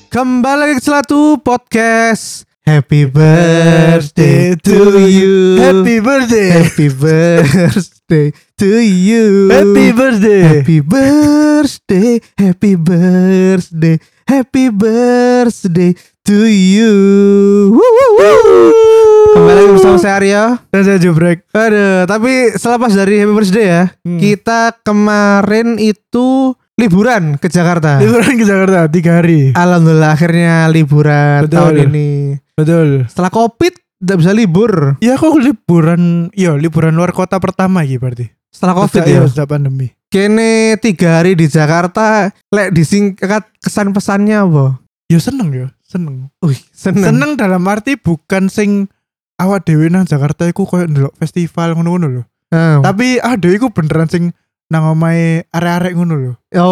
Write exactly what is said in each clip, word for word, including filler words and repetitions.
Kembali lagi ke Celatu Podcast. Happy birthday to you. Happy birthday. Happy birthday to you. Happy birthday. Happy birthday. Happy birthday. Happy birthday to you. Woo, woo, woo. Kembali lagi bersama saya Arya Dan saya Jubrek. Aduh, tapi selepas dari Happy Birthday ya, hmm. kita kemarin itu liburan ke Jakarta. Liburan ke Jakarta tiga hari. Alhamdulillah akhirnya liburan Betul. tahun ini. Betul. Setelah Covid tidak bisa libur. Ya kok liburan, iya liburan luar kota pertama gitu berarti. Setelah Covid Sejak, ya. Sejak pandemi. Kene tiga hari di Jakarta, lek disingkat kesan pesannya apa? Ya seneng ya, seneng. Wih, seneng. Seneng dalam arti bukan sing awak dhewe nang Jakarta iku koyo ndelok festival ngono-ngono lho. Oh. Tapi ah dhewe iku beneran sing nang omahe arek-arek ngono lho.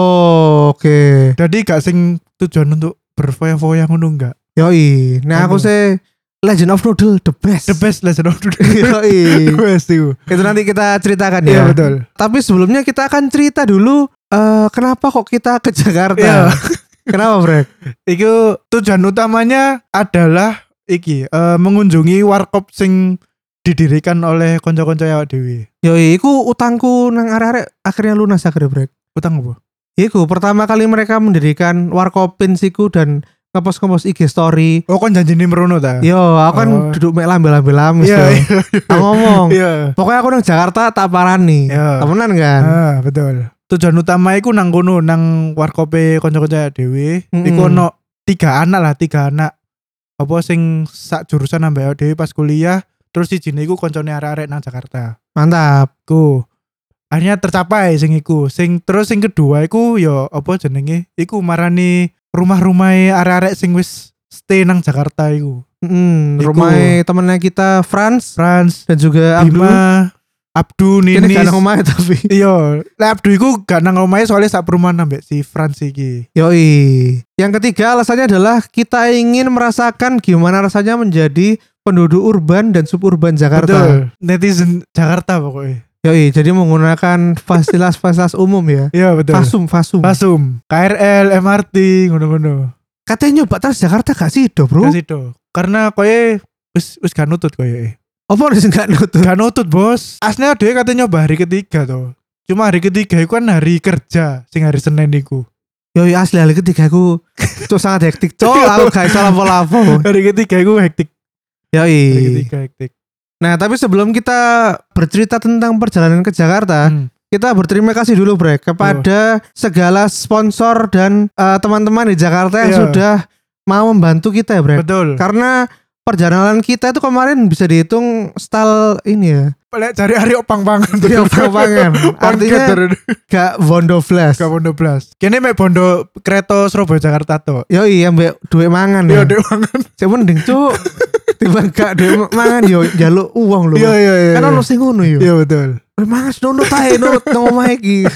Oh, oke. Okay. Jadi gak sing tujuan untuk berfoya-foya ngono enggak. Yoi, nah aku sih Legend of Noodle the best. The best Legend of Noodle. Yoi. The best itu. Itu nanti kita ceritakan ya. Iya betul. Tapi sebelumnya kita akan cerita dulu uh, kenapa kok kita ke Jakarta. Iya. Kenapa, Brek? Iku tujuan utamanya adalah iki uh, mengunjungi warkop sing didirikan oleh konco-konco awak dhewe. Yoi, iku utangku nang arek-arek akhirnya lunas akhirnya, Brek. Utang apa? Iku pertama kali mereka mendirikan warkopin siku dan ngepost-ngepost I G story. Oh kon janjine merono ta? Yo, aku kan oh. duduk mek lambe-lambe lamis. Iya, iya, iya. Aku ngomong. Iya. Pokoknya aku nang Jakarta tak parani. Iya. Temenan kan? Ah, betul. Tujuan utama iku nang kono nang warkope konco-konco dhewe. Mm-hmm. Iku ono tiga anak lah, tiga anak. Apa sing sak jurusan ambek dhewe pas kuliah, terus sijine iku koncone arek-arek nang Jakarta. Mantap. Ku. Akhirnya tercapai sing iku. Sing terus sing kedua iku yo apa jenenge? Iku marani rumah-rumahe arek-arek sing wis stay nang Jakarta iku. Mm, rumah temennya kita Franz, Franz dan juga Abdu. Bima, Abdu, Ninis. Ini gak nang omahe tapi. Iya, lek Abdu iku gak nang omahe soalnya sak perumahan ambek si Franz iki. Yoi. Yang ketiga alasannya adalah kita ingin merasakan gimana rasanya menjadi penduduk urban dan suburban Jakarta. Betul. Netizen Jakarta pokoknya. Yoi, jadi menggunakan fasilitas-fasilitas umum ya. Iya betul. Fasum, fasum. Fasum, K R L, M R T, ngono-ngono. Katanya nyoba Transjakarta gak sih do, Bro? Gak sih do. Karena koye wis wis gak nutut koye. Apa wis gak nutut? Gak nutut, Bos. Aslinya dia katanya nyoba hari ketiga tuh. Cuma hari ketiga itu kan hari kerja, sing hari Senin iku. Yoi, asli hari ketiga aku cok sangat hektik, cok. Aku gak iso lapo-lapo. Hari ketiga iku hektik. Yoi. Hari ketiga hektik. Nah, tapi sebelum kita bercerita tentang perjalanan ke Jakarta, hmm. kita berterima kasih dulu, Brek, kepada oh. segala sponsor dan uh, teman-teman di Jakarta yang yeah. sudah mau membantu kita ya, Brek. Betul. Karena perjalanan kita itu kemarin bisa dihitung style ini ya. Lek cari hari opang-pangan. Iya, opang-pangan. Artinya gak bondo blas. Gak bondo blas. Kene mek bondo kereta Surabaya Jakarta to. Yo iya mbek duit mangan ya. Yo duit mangan. Sing mending cuk. Tiba gak duit mangan yo njaluk uang lho. Iya iya iya. Kan ono sing ngono yo. Iya betul. Mangan nunut ae nunut nang omah iki.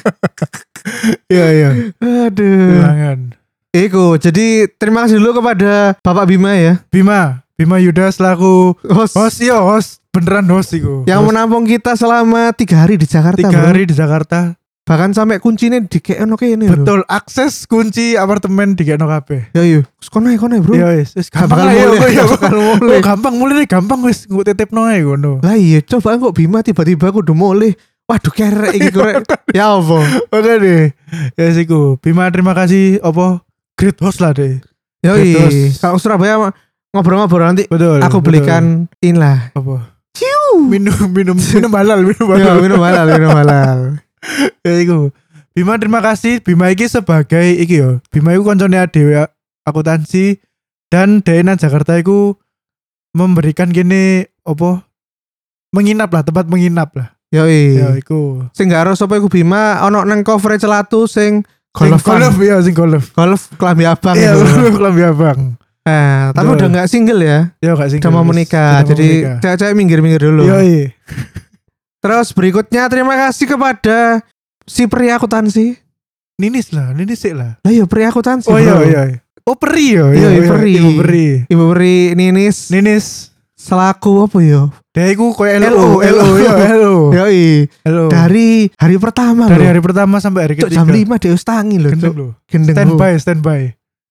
Iya iya. Aduh. Mangan. Iku, jadi terima kasih dulu kepada Bapak Bima ya. Bima, Bima Yuda selaku host. Host iya host. Beneran host iku. Yang host. Menampung kita selama tiga hari di Jakarta. Tiga bro. hari di Jakarta. Bahkan sampai kuncinya dikekno kene lho. Betul, akses kunci apartemen dikekno kabeh. Ya iya, wis kono ae kono ae, Bro. Ya wis, wis gampang mulai. Ya mulai. Gampang mulai gampang wis nggo titipno ae ngono. Lah iya, coba kok Bima tiba-tiba kudu mulai. Waduh kerek iki korek. Ya apa? Oke deh. Ya siku. Bima terima kasih apa great host lah deh. Ya iya. Kalau Surabaya ngobrol-ngobrol nanti betul, aku belikan betul. Inilah apa? Ciu. Minum minum minum halal, minum halal. Ya, minum halal, minum halal. Ya iku. Bima terima kasih. Bima iki sebagai iki yo. Bima iku koncone dhewe akuntansi dan Dena Jakarta iku memberikan gini apa? Menginap lah, tempat menginap lah. Yoi. Ya iku. Sing gak ero sapa iku Bima ono nang cover Celatu sing golf. Golf ya sing golf. Golf klambi abang. Iya, klambi abang. Nah, tapi udah gak single ya. Ya gak single. Udah mau menikah. Jadi cewek-cewek minggir-minggir dulu. Yoi. Terus berikutnya terima kasih kepada si pria akuntansi. Ninis lah, Ninis sih lah. Lah iya pria akuntansi. Oh iya iya. Oh peri yo. Iya, iya peri. Ibu peri. Ibu peri Ninis. Ninis. Selaku apa yo? Dia iku koyo L O, L O yo, L O. Yoi. Dari hari pertama Dari hari pertama sampai hari ketiga. Jam lima dia wis tangi lho, Gendeng lho. Gendeng. Standby, standby.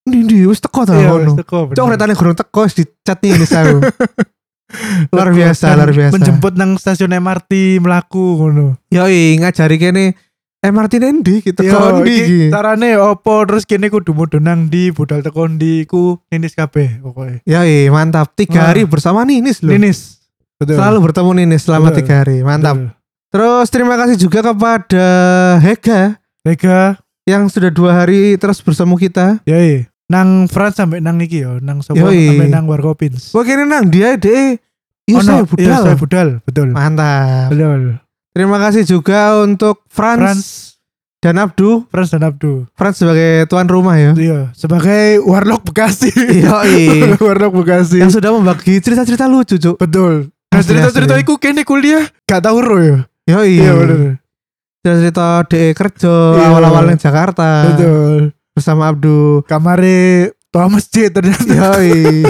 Ndi ndi wis teko ta Iya, ngono. wis teko. Cok retane gurung teko wis dicat nih aku. Luar biasa, luar biasa. Menjemput nang stasiun M R T mlaku ngono. Yoi ngajari kene M R T nendi gitu Yo, ndi iki. iki carane opo terus kene kudu mudhun nang ndi budal teko ndi iku ninis kabeh pokoke. Yoi mantap. Tiga Wah. hari bersama Ninis loh. Ninis. Betul. Selalu bertemu Ninis selama Betul. tiga hari. Mantap. Betul. Terus terima kasih juga kepada Hega Vega, yang sudah dua hari terus bersama kita. yoi. Nang France sampai nang iki yo, nang sapa Yoi. sampai nang Warkopins. Wah kene nang dia deh. Iya Oh, saya no. budal. Iya, saya budal, betul. Mantap. Betul. Terima kasih juga untuk Franz, France, dan Abdu. France dan Abdu. Franz sebagai tuan rumah ya. Iya, sebagai warlock Bekasi. Yoi. warlock Bekasi. Yang sudah membagi cerita-cerita lucu, Cuk. Betul. Nah, Asli, cerita-cerita asli. iku kene kuliah gak tau ro ya. Yoi. Iya, bener. Cerita-cerita D E kerja Iya. awal-awal yang Jakarta. Betul. Bersama Abdu. Kamare tua masjid ternyata. Yoi.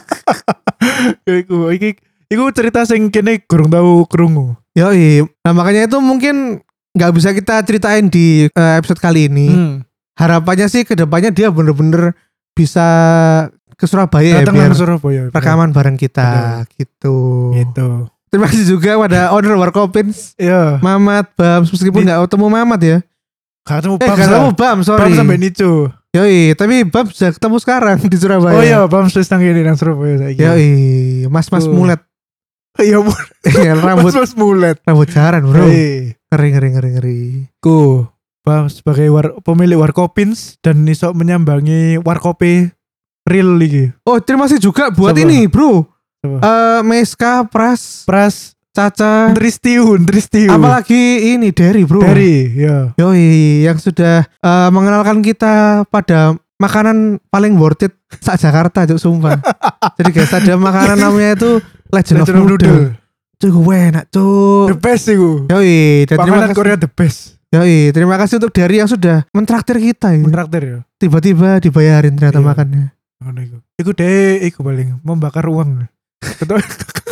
iku iki iku cerita sing kene kurang tahu krungu. Yoi. Nah makanya itu mungkin nggak bisa kita ceritain di eh, episode kali ini. Hmm. Harapannya sih kedepannya dia bener-bener bisa ke Surabaya ya Datang biar nang Surabaya. rekaman bareng kita gitu. Gitu. Terima kasih juga pada owner Warkopins, Iya. Mamat, Bams, meskipun Di- nggak ketemu Mamat ya. Gak ketemu Eh Bam. nggak ketemu Bam, sorry. Bam sampai Nico. Yoi, tapi Bam sudah ketemu sekarang di Surabaya. Oh iya, Bam wis nang kene nang Surabaya saiki. Yoi, Mas-mas Tuh. mulet. Iya, Bu. Iya, rambut Mas mulet. rambut jaran, Bro. Hei. Ngeri ngeri ngeri ngeri. Ku Bam sebagai war, pemilik Warkopins dan iso menyambangi Warkope real iki. Oh, terima kasih juga buat Siapa? ini, Bro. Siapa? Eh Meska, Pras, Pras Caca, Tristiu, Tristiu. apalagi ini Derry, Bro. Dari, ya. Yoi, yang sudah eh, mengenalkan kita pada makanan paling worth it sak Jakarta, Cuk, sumpah. Jadi guys, ada makanan namanya itu Legend, Legend of of Noodle. Noodle. Cuk, enak, The Cuk. best iku. Yoi, dan terima Makanan kasih. Korea the best. Yoi, terima kasih untuk Derry yang sudah mentraktir kita ya. Menraktir ya. Tiba-tiba dibayarin ternyata Iya. makannya. Ngono iku. Iku deh, iku paling membakar uang. Betul.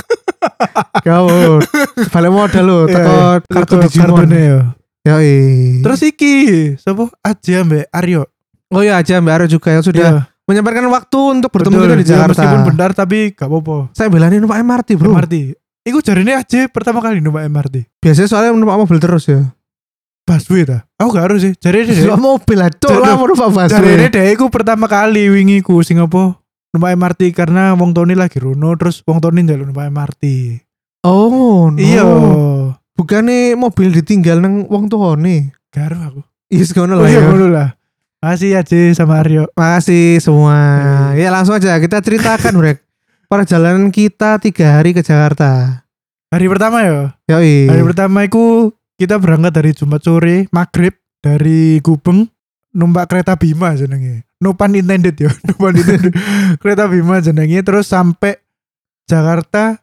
Kau balik modal lo, teko kartu Digimon. ya. Yoi. Terus iki, sapa? Aja Mbak Aryo. Oh iya aja Mbak Aro juga yang sudah Iya, menyempatkan waktu untuk bertemu betul. kita di Ya, Jakarta. meskipun benar tapi gak apa-apa. Saya belain numpak M R T, Bro. M R T. Iku jarine aja pertama kali numpak M R T. Biasanya soalnya numpak mobil terus ya. Busway ta? Aku gak harus sih. Jarine deh. Numpak mobil lah, cok Jadi- lah mau numpak Jarine busway. deh iku pertama kali wingi ku sing apa? Numpak M R T karena wong Tony lagi runo terus wong Tony njaluk numpak M R T. Oh, no. Iya. Bukannya mobil ditinggal nang wong tuane. Gak harus aku. Iya, sekono Oh lah iya ya. ngono lah. Makasih aja sama Aryo. Makasih semua. Ya langsung aja kita ceritakan, Brek. Perjalanan kita tiga hari ke Jakarta. Hari pertama ya. Yoi. Hari pertama itu kita berangkat dari Jumat sore maghrib dari Gubeng numpak kereta Bima jenenge. No pun intended ya. No pun intended. Kereta Bima jenenge terus sampai Jakarta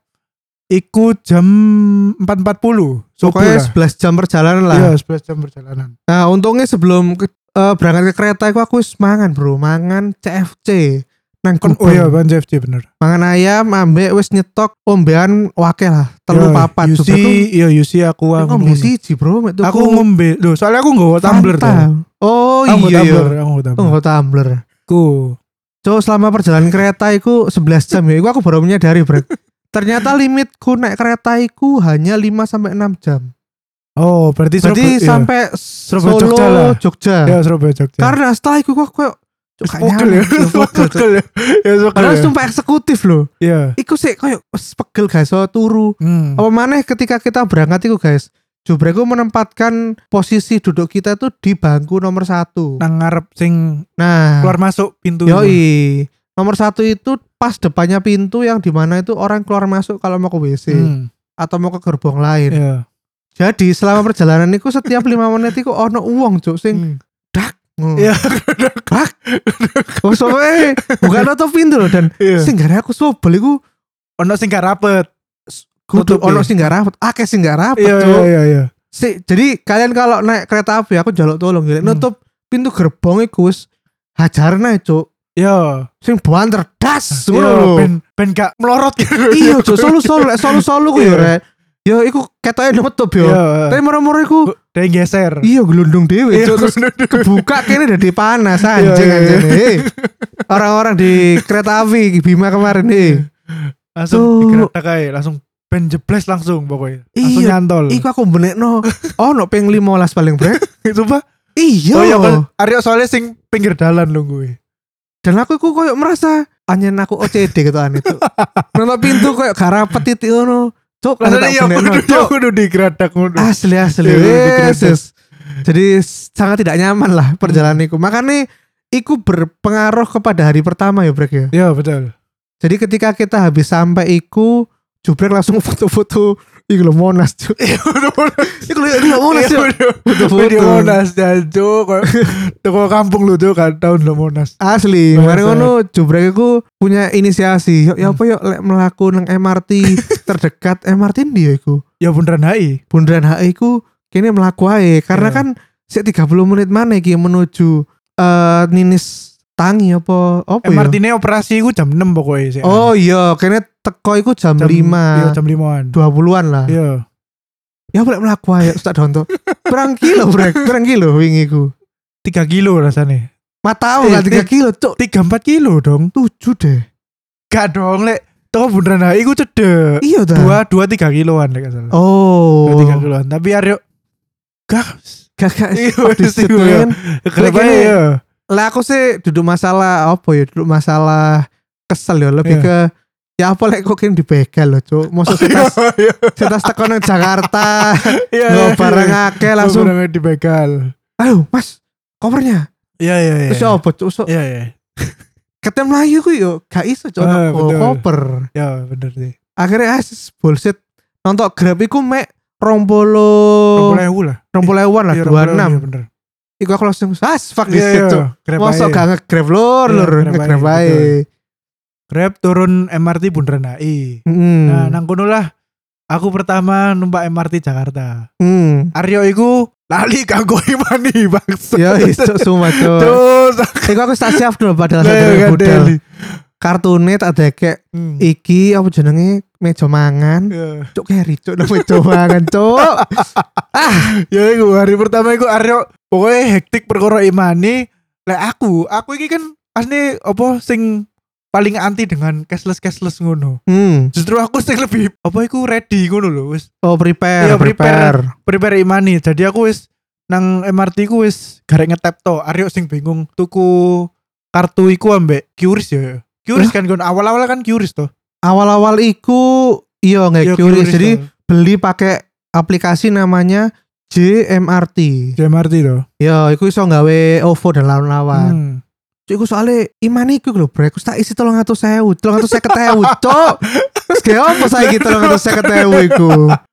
iku jam empat empat puluh. Pokoknya sebelas jam perjalanan lah. Iya, sebelas jam perjalanan. Nah, untungnya sebelum ke, eh, berangkat ke kereta aku aku wis mangan, Bro. Mangan C F C nang Kon Gubeng. oh iya, Ban C F C bener. Mangan ayam, ambek wis nyetok ombean wake lah. Telu Ya, papat. Yusi, iya Yusi aku Aku aku ngombe ngombe. siji, Bro. mek tuku Aku ngombe. Loh, soalnya aku nggawa tumbler Fanta. tuh. Oh Aku iya iya. tumbler, aku nggawa Aku tumbler. nggak tumbler. Ku. Cuk, selama perjalanan kereta iku sebelas jam ya. Iku aku baru menyadari, Bro. Ternyata limitku naik kereta iku hanya lima sampai enam jam. Oh, berarti Berarti Surabaya- iya. sampai Surabaya, Solo, Jogja lah. Jogja. Ya Surabaya Jogja. Karena setelah iku kok kok Cuk, gak Pegel ya. nyaman, Cuk, pegel, Cuk. Pegel ya. Ya pegel Padahal ya. sumpah eksekutif loh. Iya. Iku sih koyo wes pegel guys, so turu. Hmm. Apa maneh ketika kita berangkat iku guys, Jubreku menempatkan posisi duduk kita tuh di bangku nomor satu. Nang ngarep sing Nah, keluar masuk pintu. yoi. Nomor satu itu pas depannya pintu yang dimana itu orang keluar masuk kalau mau ke W C Hmm. atau mau ke gerbong lain. Iya. Jadi selama perjalanan itu setiap lima menit itu ono uang cuk sing Hmm. ngono. Iya. Dak. Oh soalnya bukan nutup pintu loh dan Iya. sing gak aku sobel iku Ono sing gak rapet. kudu Nutup, ono iya. sing gak rapet, akeh sing gak rapet Iya cuk. iya iya iya. Si, jadi kalian kalau naik kereta api aku jaluk tolong gitu. Hmm. Nutup pintu gerbong iku wis hajarna cuk. Iya. Sing banter das Iya, ngono lho. ben ben gak melorot gitu. Iya cuk, solu solu lek solu solu ku ya Iya. rek. Yo iku ketoke nutup yo. Iya. Tapi moro-moro iku Dia geser. iya gelundung dhewe Iya, Cuk. Terus gelundung. kebuka kene dadi panas anjing Iya, iya, anjing. Eh, orang-orang di kereta api Bima kemarin nih. Langsung Cuk. digerak aja, langsung ben jebles langsung pokoknya. Langsung Iya, nyantol. Iku aku benekno. Oh, no ping lima belas paling brek. Itu Pak. Iya. Oh iya kan Aryo soalnya sing pinggir dalan lho gue. Dan aku iku koyo merasa anyen aku O C D gitu an itu. Nonton pintu koyo gak rapet titik ngono. Cuk, kan Rasanya tak iya benekno. kudu Cuk. kudu digeradak ngono. Asli asli. Iya, kudu Yes, digeradak. yes. Jadi sangat tidak nyaman lah perjalanan iku. Makanya iku berpengaruh kepada hari pertama ya brek ya. Iya betul. Jadi ketika kita habis sampai iku jubrek langsung foto-foto iku lho Monas Cuk. Iya betul. Iku lho iku lho Monas Cuk. Foto-foto. Video Monas jancuk. Toko kampung lu tuh kan tahun lo Monas. Asli, Bahasa. kemarin ngono jubrek iku punya inisiasi. Yuk, ya apa yuk lek melaku nang M R T terdekat M R T ndi ya iku? Ya Bundaran H I. Bundaran H I iku kene melaku ae karena Iya. kan sik tiga puluh menit mana iki menuju eh Ninis Tangi apa apa M R ya? T ini operasi ku jam enam pokoknya sih. Oh iya, kene teko iku jam, Jam- Iya lima jam limaan. dua puluhan lah. Iya. Ya boleh melaku ae Ustaz Donto. Berang kilo brek, berang kilo wingi iku. tiga kilo rasanya. Matamu Eh, lah tiga eh. kilo, Cuk. tiga empat kilo dong. tujuh deh. Gak dong lek. Toko Bundaran H I ku cedek. Iya dah. Dua dua tiga kiloan lek gak salah. Oh. Dua tiga kiloan. Tapi Aryo gas. Gak Iya, gak wis iku ya. Kenapa gini, ya? lah aku sih duduk masalah apa ya duduk masalah kesel ya lebih Iya. ke ya apa lek kok kini dibegal loh Cuk maksud setas Iya. setas teko nang Jakarta Iya. nggak barang akeh langsung Barang dibegal. ayo mas kopernya Iya iya iya. terus apa Cuk so, Iya iya. ketem Melayu ku yo gak iso Cuk Ah, oh, betul. koper Ya bener sih. akhirnya ah bullshit nonton Grab iku mek rompolo Rompol ewu lah. rompoleuan lah Iya, dua rompol ewu, enam iya, bener. iku aku langsung as fuck this Iya shit iya. Cuk Grab mosok aja. gak nge-grab lur Iya, lur Grab nge-grab aja, ae betul. Grab turun M R T Bundaran H I. Hmm. Nah, nang kono lah aku pertama numpak M R T Jakarta. Hmm. Aryo iku lali kanggo imani bangsa. Ya iso semua Cuk. Terus Iku aku tak siap dulu padahal Lah, sadar kan, budal. Deli. Kartune tak ada kayak Hmm. iki apa jenenge meja mangan. Ya. Cuk keri cuk nang meja mangan cuk. Ya iku hari pertama iku Aryo pokoknya hektik perkara imani. Lah aku, aku iki kan asli apa sing paling anti dengan cashless cashless ngono. Hmm. Justru aku sing lebih apa iku ready ngono lho wis Oh prepare, Iya, prepare. prepare. prepare imani. Jadi aku wis nang M R T ku wis garek ngetap to. Aryo sing bingung tuku kartu iku ambek Qris ya. Qris kan kon awal-awal kan Qris to. Awal-awal iku iya nggak Iya, curious. Qris Jadi to. beli pakai aplikasi namanya J M R T. J M R T to. Ya, iku iso gawe O V O dan lawan-lawan. Hmm. Cuk iku soalnya iman iku lho brek, aku tak isi tolong atus sewu, tolong atus seket ewu, cuk. Terus kayak apa saiki tolong atus seket ewu iku?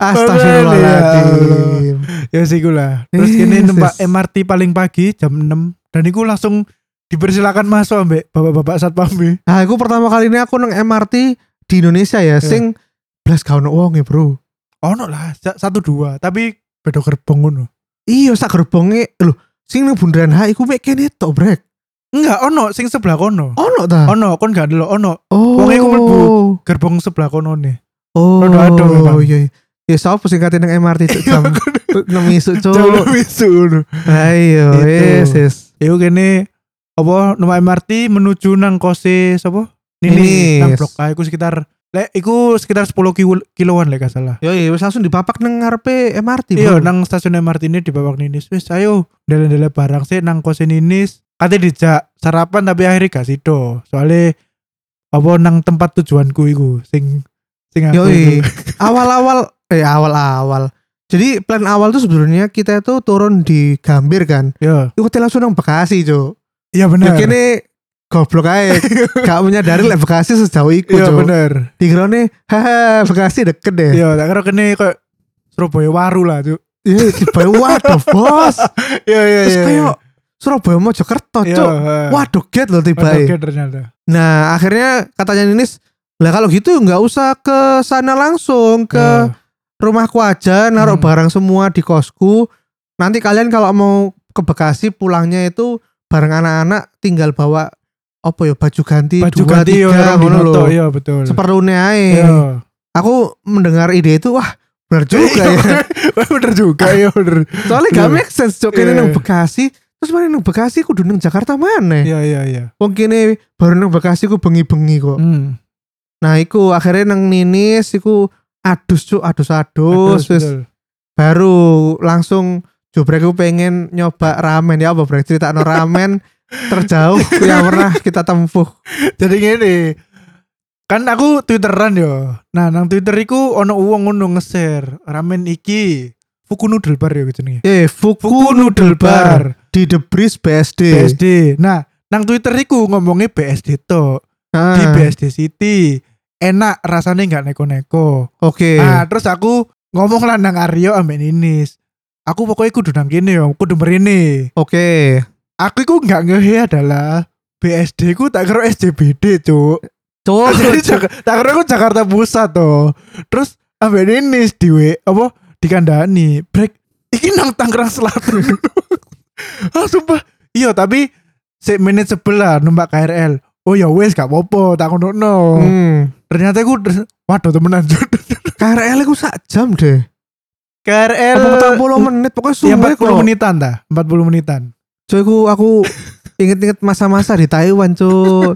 Astagfirullahaladzim. Ya sih lah. Terus Yes, kini numpak yes. M R T paling pagi jam enam dan iku langsung dipersilakan masuk ambek bapak-bapak satpam. Nah, aku pertama kali ini aku nang M R T di Indonesia ya, sing blas gak ono wong ya, Bro. Ono lah sa- satu dua tapi beda gerbong ngono. Iya, sak gerbonge lho, sing nang Bundaran H I ku mek kene tok, brek. Enggak, ono sing sebelah kono. Ono ta? Ono kon gak delok ono Oh. wong iku mlebu. gerbong sebelah kono nih. Oh. Rodo-ado memang. iya. Ya sapa sing kate nang M R T cuk, jam enam isuk, cuk. Jauh wisu ngono. Ayo, Itu. yes, yes. Iku kene apa numpak M R T menuju nang kose sapa? Ninis. Nini nang blok A iku sekitar lek iku sekitar sepuluh kilo- kiloan lek gak salah. Yo, iya, wis langsung dipapak nang ngarepe M R T, Iya, Bro. nang stasiun M R T ini di Babak Ninis. Wis ayo dele-dele barang sih nang kose Ninis. Kate dijak sarapan tapi akhirnya gak sido. Soalnya apa nang tempat tujuanku iku sing sing Yo, aku iku. awal-awal eh awal-awal. Jadi plan awal tuh sebenarnya kita itu turun di Gambir kan. Iya, Iku langsung nang Bekasi, Cuk. iya Ya bener. kene goblok ae. Gak menyadari lek Bekasi sejauh iku, Iya Cuk. bener. Dikirone haha Bekasi deket deh. Iya, tak kira kene kayak Surabaya Waru lah, Cuk. Iya, tiba waduh, Bos. Iya iya Terus iya. kayak Surabaya Mojokerto, Iya, Cuk. heeh. Waduh, get loh tiba. Oke ternyata. Nah, akhirnya katanya Ninis, lah kalau gitu nggak usah ke sana langsung ke Iya. rumahku aja, naruh Hmm. barang semua di kosku. Nanti kalian kalau mau ke Bekasi pulangnya itu bareng anak-anak tinggal bawa apa ya baju ganti Baju dua ganti tiga orang ngono dinoto, lho. iya betul. Seperlunya ae. Iya. Aku mendengar ide itu wah Bener juga ya. Bener juga ya bener. Soalnya gak make sense cok kene Iya. nang Bekasi, terus mana nang Bekasi kudu nang Jakarta mana? Iya iya iya. Wong kene baru nang Bekasi ku bengi-bengi kok. Hmm. Nah, iku akhirnya nang Ninis iku adus cuk, adus-adus Betul, wis betul. baru langsung Jobrek ku pengen nyoba ramen ya apa Brek critakno ramen terjauh yang pernah kita tempuh. Jadi gini, kan aku twitteran yo. Nah nang Twitter iku ono uang ngono nge-share ramen iki Fuku Noodle Bar ya gitu nih. Eh, Fuku, Fuku Noodle Noodle Bar Bar di The Breeze B S D. B S D. Nah nang Twitter iku ngomongnya B S D to Ah, di B S D City. Enak rasanya nggak neko-neko. Oke. Nah terus aku ngomong lah nang Aryo ambek Ninis. Aku pokoknya kudu nang kene yo, kudu mrene. Oke. Aku iku nggak ngehe adalah B S D ku tak kira S C B D cuk. Cuk, Jadi Jak- tak kira aku Jakarta Pusat toh. Terus ambek Ninis diwe apa dikandani break iki nang Tangerang Selatan. Ah sumpah. Iya tapi se menit sebelah numpak K R L. Oh ya wes gak apa-apa tak ngono. Hmm. Ternyata aku waduh temenan. K R L ku sak jam deh. K R L Apa empat puluh menit pokoknya ya suwe empat puluh kok. menitan dah, empat puluh menitan. Cuy aku aku inget-inget masa-masa di Taiwan cuy.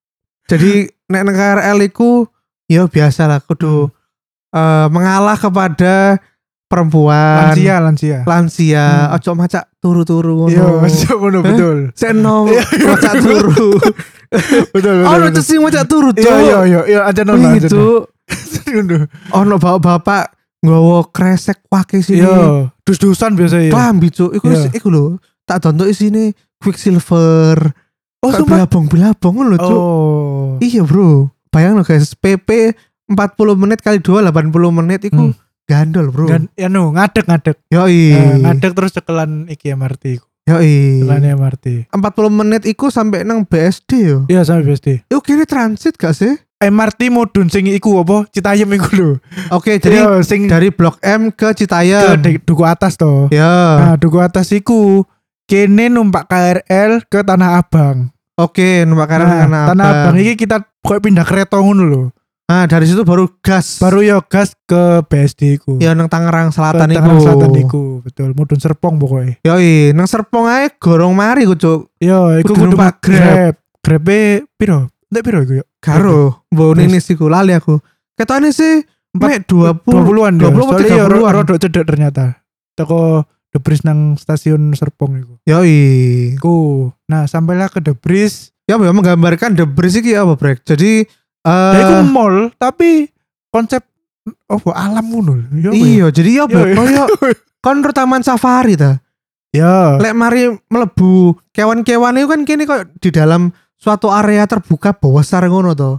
Jadi nek nang K R L iku ya biasa lah kudu eh, mengalah kepada perempuan Lansia, lansia. lansia Hmm. ojo macak turu-turu Iya, ngono. masih ngono Hah? betul. Seno Iya, iya. macak turu. Betul betul. Ono betul. sing macak turu Iya cuy. iya iya iya aja nono aja. Itu Ngono. ono bapak-bapak nggawa kresek wake sini. Iya, dus-dusan biasa ya. Klambi cuk, iku Iya. iku lho. Tak tonton isine Quicksilver. Oh, Kayak sumpah. belabong-belabong ngono lho cuk. Oh. Iya bro, bayang lo guys, P P empat puluh menit kali dua delapan puluh menit itu Hmm. gandol bro. Dan ya no, ngadeg-ngadeg. Yoi, Eh, ngadeg terus cekelan iki M R T. yoi. Cekelan M R T. empat puluh menit iku sampai nang B S D yo. Iya sampai B S D. Yo kini transit gak sih? M R T mudun sing iku apa? Citayam iku lho. Oke, jadi Iya, sing dari Blok M ke ke Citayam. de- duku atas toh. Ya, Nah, duku atas iku kene numpak K R L ke Tanah Abang. oke, numpak kanan Nah, Tanah Tanah Abang. Abang iki kita pokoknya pindah kereta ngono lho. Nah, dari situ baru gas. Baru yo gas ke B S D iku. ya nang Tangerang ke Selatan iku. Tangerang Selatan iku, betul. Mudun Serpong pokoknya. Yoi, nang Serpong ae gorong mari ku cuk. Yo, iku Kudu kudu numpak numpak Grab. Grab. Grab-e piro? Ndek piro iku yo? Karo, mbok Terus? ninis iku lali aku. Ketane sih mek dua puluh dua puluhan dua ya. puluh Soalnya tiga ya puluhan. rada cedek ternyata. Teko The Breeze nang stasiun Serpong iku. Yoi. Iku. Nah, sampailah ke The Breeze. Ya apa ya menggambarkan The Breeze iki apa brek. Jadi Ya eh iku mall tapi konsep apa alam ngono lho. Ya apa ya? iya, jadi ya apa? Iya, iya. Koyo kon taman safari ta. Ya. Lek mari melebu kewan-kewan itu kan kini kok di dalam suatu area terbuka besar ngono to.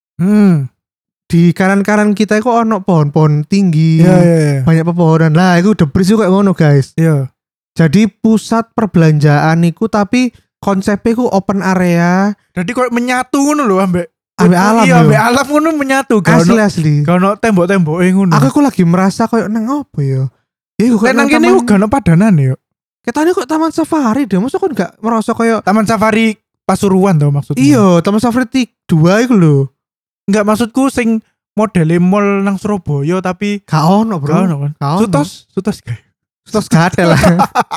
Hmm. Di kanan-kanan kita itu ono pohon-pohon tinggi. Iya iya iya. Banyak pepohonan. Lah itu The Breeze kayak ngono guys. Iya. Jadi pusat perbelanjaan iku tapi konsepnya iku open area Jadi kok menyatu ngono lho ambek ambek alam Iya, yo. ambek alam ngono menyatu. Gak Asli ono asli. gak ono tembok-temboke ngono. Aku aku lagi merasa kayak nang apa ya? Ya iku Lek kayak nang kene taman- iku gak ono padanan ya. Ketane kok taman safari deh. Masa kan gak merasa kayak Taman Safari Pasuruan tau maksudnya. iya taman safari tik dua iku lho. Enggak maksudku sing modele mall nang Surabaya tapi Gak ono bro. gak ono kan. Gak ono. Sutos, sutos guys. Sutos gak ada lah.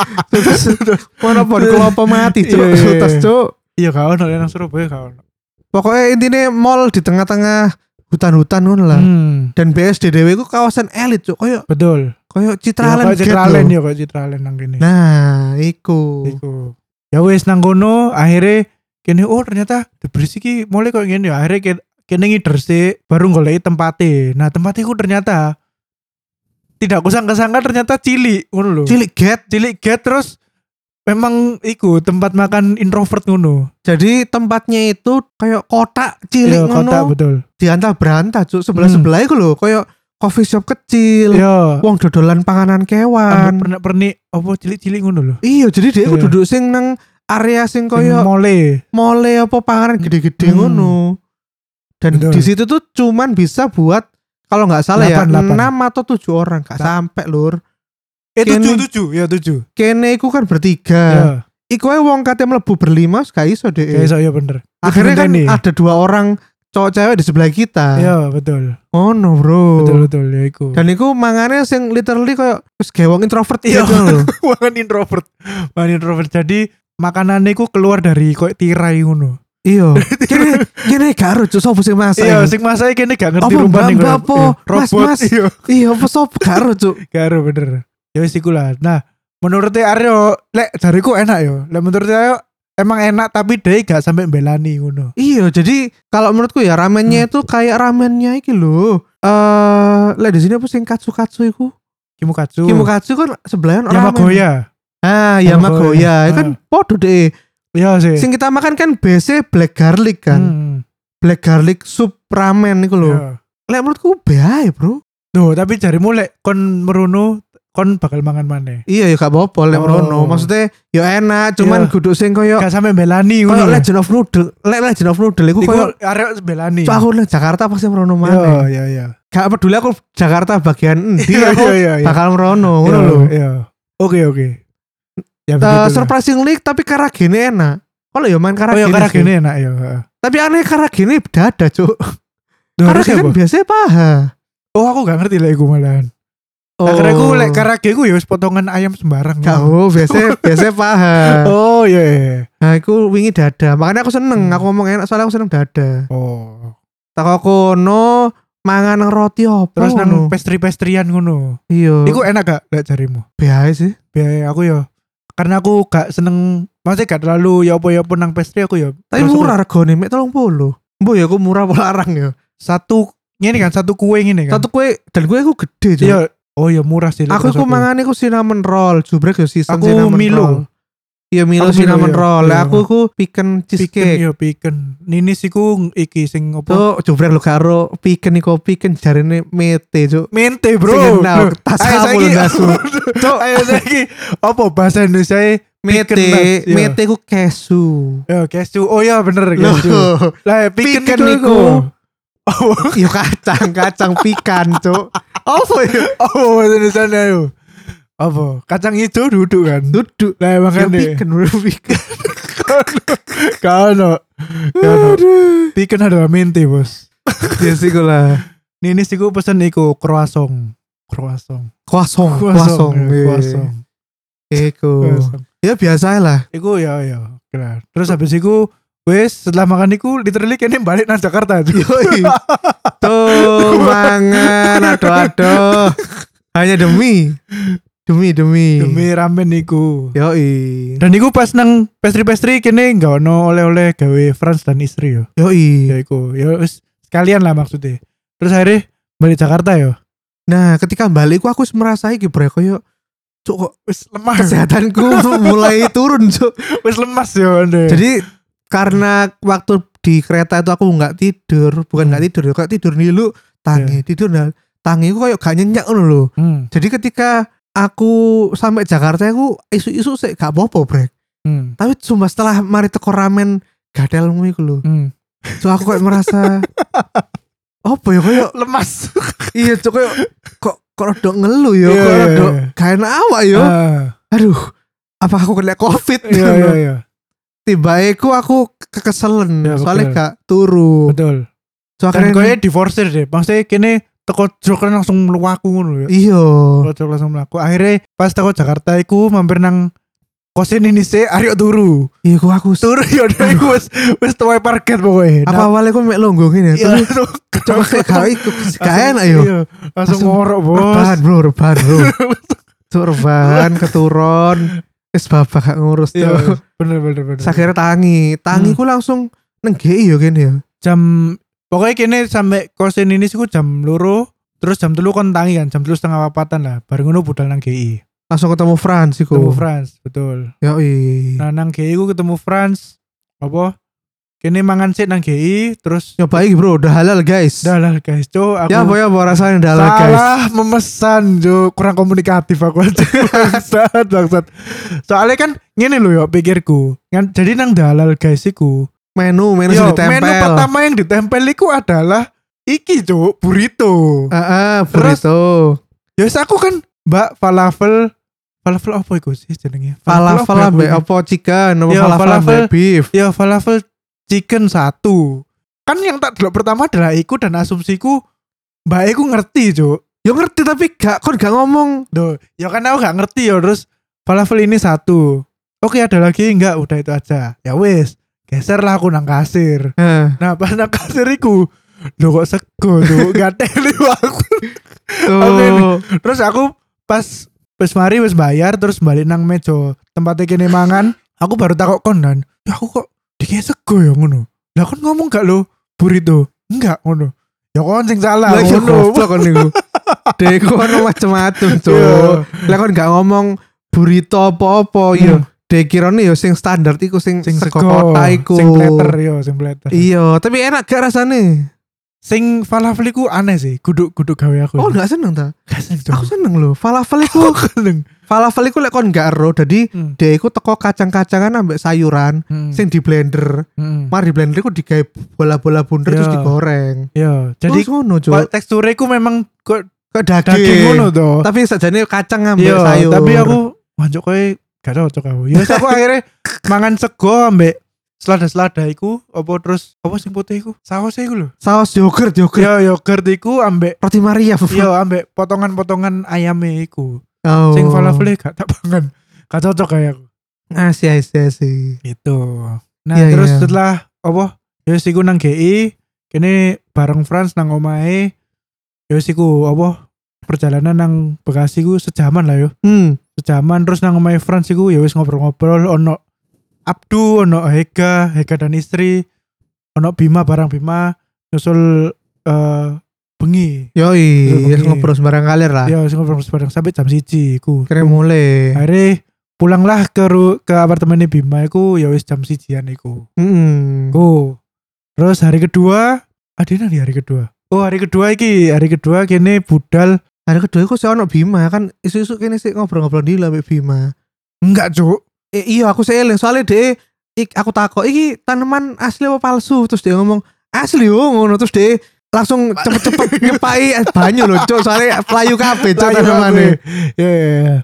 Sutos. Mana pohon kelapa mati cuk. Iya, iya, iya. Sutos cuk. Iya gak ono nang Surabaya gak ono. Pokoknya intinya mall di tengah-tengah hutan-hutan ngono lah. Hmm, Dan B S D dewe iku kawasan elit cuk. Kayak betul. kayak Ya, Citraland kayak Gate Citraland lho. ya kayak Citraland nang kene. Nah, iku. Iku. Ya wis nang kono akhirnya kene oh ternyata The Breeze iki mulai kok ngene ya. Akhirnya ke- kene ngider sih baru goleki tempatnya. Nah, tempatnya iku ternyata tidak kusangka-sangka ternyata cilik ngono lho. Cilik gate. Cilik get terus memang iku tempat makan introvert ngono. Jadi tempatnya itu kayak kotak cilik Iya, ngono. kota betul. Diantah berantah cuk. Sebelah-sebelah iku lho kayak coffee shop kecil. Iya. Wong dodolan panganan kewan. Pernah pernik apa cilik-cilik ngono lho. Iya, jadi dia iku Iya. duduk sing nang area sing Sing koyo mole. mole apa panganan gede-gede Hmm. ngono. Dan Betul. di situ tuh cuman bisa buat kalau nggak salah ya Delapan, delapan. enam atau tujuh orang, gak Nah. sampai lur. Eh Kene- tujuh tujuh ya tujuh. Kene iku kan bertiga. Ya. Iku ae wong kate mlebu berlima gak iso deh. Kayak iso ya bener. Akhirnya kan Kudu ngenteni. ada dua orang cowok cewek di sebelah kita. Iya, betul. Oh no, bro. Betul betul ya iku. Dan iku mangane sing literally kayak wis gewong introvert Iya. gitu lho. Mangan introvert. Mangan introvert. Jadi makanannya iku keluar dari koyo tirai ngono. Iya. Kene kene gak ero cuk sapa sing masak. Iya, sing masak kene gak ngerti Apa rumpane mbak apa? Mas robot. mas. Iya, Iya apa sapa gak ero cuk. gak ero bener. Ya wis iku lah. Nah, menurut Aryo, lek jariku enak yo. Lek menurut Aryo emang enak tapi dia gak sampai belani ngono. Iya, jadi kalau menurutku ya ramennya Hmm. itu kayak ramennya iki lho. Eh, lek di sini apa sing katsu-katsu iku? Kimukatsu. Kimukatsu kan sebelahan ramen. Yamagoya. Ah, Yamagoya. Yamagoya. Itu kan podo deh. Iya sih. Sing kita makan kan biasa black garlic kan. Hmm. Black garlic soup ramen iku lho. Iya. Lek menurutku bae, Bro. Duh, tapi jarimu lek kon merono kon bakal mangan maneh. Iya ya gak apa-apa lek Oh. merono. Maksudnya ya enak, cuman Iya. kudu sing koyo Gak sampai belani koyo ngono. Legend of Noodle. Lek Legend of Noodle iku Iku koyo arek belani. Cuk, aku nang Jakarta pasti merono Iya, maneh. iya, iya. Gak peduli aku Jakarta bagian endi Iya, aku iya, iya, iya. bakal merono ngono Iya, lho. Iya. Oke, oke. Ya Uh, begitu. surprisingly tapi karagene enak. Kalau ya main Oh karagene. ya sih. karagene enak ya. Tapi aneh karagene dada, Cuk. Duh, Karena terus kan apa? biasanya paha. Oh, aku gak ngerti lek iku malahan. Oh. Akhirnya aku lek karage ku ya wis potongan ayam sembarang. Gak, oh, biasanya biasanya paha. Oh iya. iya. Nah, aku wingi dada. Makanya aku seneng. Hmm. Aku ngomong enak soalnya aku seneng dada. Oh. Tak kono mangan nang roti opo. Terus nang ngono? pastry-pastryan ngono. Iya. Iku enak gak lek jarimu? biasa sih. Biaya aku ya. Karena aku gak seneng, maksudnya gak terlalu ya apa ya apa nang pastry aku ya. Tapi terus aku- murah regane mek tiga puluh. Mbok ya aku murah apa larang ya. Satu ini kan satu kue ini kan. Satu kue dan kue aku gede, Cuk. Iya. Oh ya murah sih. lek Aku terus iku mangan iku cinnamon roll, jubrek yo season Aku cinnamon Milo. roll. Iya Milo Aku Milo, cinnamon iya. roll. Lah Iya. aku iku pecan Piken cheesecake. ya piken. Ninis iku iki sing apa? Tuh jubrek lo karo pecan iku pecan jarine mete, Cuk. Mente bro. Sing kenal, Loh, tas ayo kamu saiki- lho nasu. Cuk, ayo saiki apa bahasa Indonesia Mete, nuts, iya. mete ku kesu. Ya kesu. Oh ya bener Loh, kesu. Lah piken Piken iku. iku. Oh, Yo kacang, kacang pikan, Cuk. Apa ya? oh bahasa Indonesia yo. Apa? Kacang hijau duduk kan. Duduk. Lah Ya makanya pikan, bro, pikan. Kano. Kano. Piken adalah mente, Bos. Ya sih lah. Ninis iku pesen iku croissant. Croissant. Kosong, kosong. ya, croissant. Iku. Croissant. Ya biasa lah. Iku ya ya. Kelar. Terus habis iku wes setelah makan iku literally kene balik nang Jakarta. Yoi. Tuh mangan aduh-aduh. Hanya demi demi demi. Demi ramen iku. Yoi. Dan iku pas nang pastry-pastry kene gak ono oleh-oleh gawe Franz dan istri yo. Yoi. Ya iku. Ya wis sekalian lah maksudnya. Terus akhirnya balik Jakarta yo. Nah, ketika balik aku merasa iki bre koyo cuk kok Wis lemah. kesehatanku mulai turun, Cuk. Wis lemas yo ande. Jadi karena waktu di kereta itu aku nggak tidur, bukan nggak Hmm. tidur, kayak tidur nilu tangi, tidur nah, tangi aku kayak gak nyenyak ngono lho. Hmm. Jadi ketika aku sampai Jakarta aku isu-isu sih gak apa-apa, Brek. Hmm. Tapi cuma setelah mari teko ramen gadelmu iku lho. Hmm. So aku kayak merasa apa ya kayak Lemas. iya cok kayak kok kok rodok ngeluh ya, Iya, kok iya, rodok iya. gak enak awak ya. Ah. Aduh, apa aku kena covid? Iya iya iya. Tiba aku aku kekeselen Ya, soalnya betul. gak turu. Betul. So Dan akhirnya koyo diforsir deh. Maksudnya kene teko jok langsung mluwaku ngono ya. iya. Teko jok langsung mlaku. Akhirnya pas teko Jakarta iku mampir nang kosen ini sih Aryo turu. Iya aku aku Turu ya udah iku wis wis tuwe parket pokoknya. apa awalnya aku mek longgo gini ya. Iya, Tapi coba kayak gak iku gak enak yo. Iya, langsung Langsung ngorok, Bos. Rebahan bro, rebahan bro. Cuk rebahan keturun. Wis babak gak ngurus Iya, tuh. bener bener bener. Sakira tangi, tangi Hmm. ku langsung neng G I yo kene ya. Jam pokoknya kene sampai kosen ini sih jam loro, terus jam telu kon tangi kan, jam telu setengah papatan lah. Bareng ngono budal nang G I. Langsung ketemu Frans iku. Ketemu Franz, betul. Yoi. Nah nang G I ku ketemu Franz. Apa? Kene mangan sik nang G I, terus Nyoba iki bro, udah halal guys. dalah guys, cuk aku Ya apa ya apa rasanya udah halal guys. salah memesan, cuk. Kurang komunikatif aku aja. bangsat, bangsat. Soalnya kan ngene lho yo pikirku. Kan jadi nang dalal guys iku. Menu, menu Yo, sudah ditempel. menu pertama yang ditempel iku adalah iki, cuk, burrito. Heeh, burrito. Ya wis aku kan Mbak falafel falafel apa iku sih jenenge? Falafel apa ambek iku? apa chicken, apa Ya, falafel falafel. ambek beef. Ya falafel chicken satu. kan yang tak delok pertama adalah iku dan asumsiku mbak iku ngerti cuk. Ya ngerti tapi gak kon gak ngomong. Duh, ya kan aku gak ngerti ya terus falafel ini satu. Oke ada lagi enggak udah itu aja. Ya wis, geser lah aku nang kasir. Heeh. Nah pas nang kasir iku lho kok sego tuh gak teli aku. Oh. Terus aku pas wis mari wis bayar terus balik nang meja tempatnya kene mangan. Aku baru takok kon kan. Ya aku kok dikira sego ya ngono. Lah kon ngomong gak lo burrito? Enggak ngono. Ya kon sing salah Lah ya ngono. goblok kon niku. Dek ono macam-macam, Cuk. Lah kon gak ngomong burrito apa-apa ya. Dek kirane ya sing standar iku sing Sing sego sego, kota iku. sing platter yo, sing platter. Iya, tapi enak gak rasane? Sing falafel iku aneh sih, guduk-guduk gawe aku. Oh, gak seneng ta? gak seneng. Aku seneng loh. Falafel iku seneng. falafel iku lek kon gak ero, dadi Hmm. dia iku teko kacang-kacangan ambek sayuran Hmm. sing di blender. Hmm. Mari di blender iku digawe bola-bola bunder Ya. terus digoreng. Yo, jadi Terus ngono, Cuk. kok teksturnya ku memang kok Kayak daging. daging ngono to. Tapi sajane kacang ambek Yo, sayur. tapi aku wancuk kowe gak cocok aku. Ya wis aku akhirnya mangan sego ambek selada-selada iku apa terus apa sing putih iku? Saus iku lho. saus yogurt yogurt. Yo yogurt iku ambek Roti Maria. yo ambek potongan-potongan ayame iku. Oh. Sing falafel gak tak pangan. Gak cocok kayak aku. Asih asih asih. Gitu. Nah, Iya, terus iya. setelah apa? Ya wis iku nang G I, kene bareng Frans nang omahe. Ya wis iku apa? Perjalanan nang Bekasi ku sejaman lah yo. Hmm. Sejaman terus nang omahe Frans iku ya wis ngobrol-ngobrol ono Abdu, ono Hega, Hega dan istri, ono Bima barang Bima nyusul eh bengi. Yoi, Iya, ya bengi. ngobrol sembarang kalir lah. Ya wis ngobrol bareng sampai jam siji iku. Kira mulai. Akhirnya pulanglah ke ru- ke apartemennya Bima iku ya wis jam sijian iku. Hmm. Go. Terus hari kedua, adina di hari kedua. Oh hari kedua iki, hari kedua kene budal. Hari kedua aku sih ono Bima kan isu-isu kene sih ngobrol-ngobrol di ambek Bima. Enggak cuk. Eh, iya aku sih eling soalnya dia ik, aku takut iki tanaman asli apa palsu terus dia ngomong asli yo ngono terus dia langsung cepet-cepet nyepai banyu loh cuk soalnya pelayu kabeh cuk tanamannya. Ya ya ya.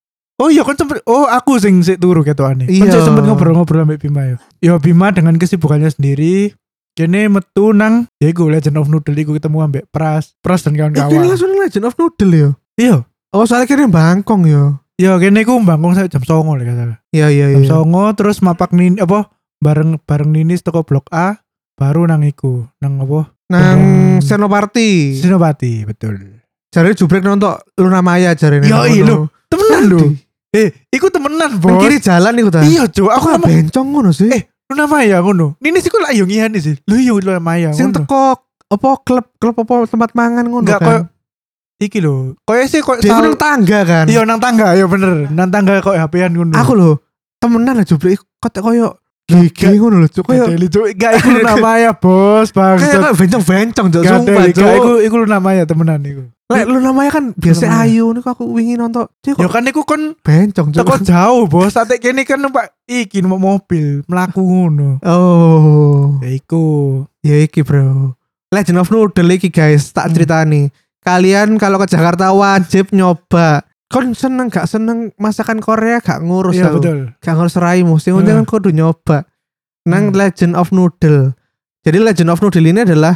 Oh iya kan sempet, oh aku sing sik turu ketokane. Iya. Kan sik sempet ngobrol-ngobrol sama Bima yo. Yo Bima dengan kesibukannya sendiri kene metu nang ya iku Legend of Noodle iku ketemu ambek Pras, Pras dan Eh, kene kawan-kawan. langsung Legend of Noodle yo. Iya. Oh soalnya kene Bangkong yo. Yo kene ku bangkong sampai jam songo lah salah. Iya iya Jam iya. songo terus mapak nin apa bareng bareng Ninis toko blok A baru nang iku nang apa Nang Bareng- Senopati. Sinopati betul. Jare jubrek nonton Luna Maya jare Yo iya lho temenan lho. Eh iku temenan Nang bos. kiri jalan iku ta. Iya cuk Aku aku ngomong bencong ngono sih. eh Luna Maya ngono. Ninis iku lak yo ngiyane sih. Lho yo Luna Maya Sing ngono. teko apa klub klub apa tempat mangan ngono Enggak kan. koyo iki lho. Koyo sih koyo Dia sal- nang tangga kan. Iya nang tangga ya bener. Nang tangga koyo H P-an ngono. Aku lho temenan lah jubrek kotek koyo gigi ngono lho cuk koyo Gadeli cuk. Enggak iku Luna Maya bos kayak bangsat. kayak bencong-bencong cuk sumpah Gadeli cuk. iku iku Luna Maya temenan iku. Lek lu namanya kan biasa Luna Maya. ayu niku aku wingi nonton. Cuk Ya kok kan iku kon bencong cuk. teko jauh bos. Saat kene kan numpak iki numpak mobil melaku ngono. Oh. Ya iku. Ya iki bro. Legend of Noodle iki guys, tak Hmm. ceritani. Kalian kalau ke Jakarta wajib nyoba. Kon seneng gak seneng masakan Korea gak ngurus Iya aku. betul. Gak ngurus raimu. Sing penting kan Hmm. kudu nyoba. Nang Hmm. Legend of Noodle. Jadi Legend of Noodle ini adalah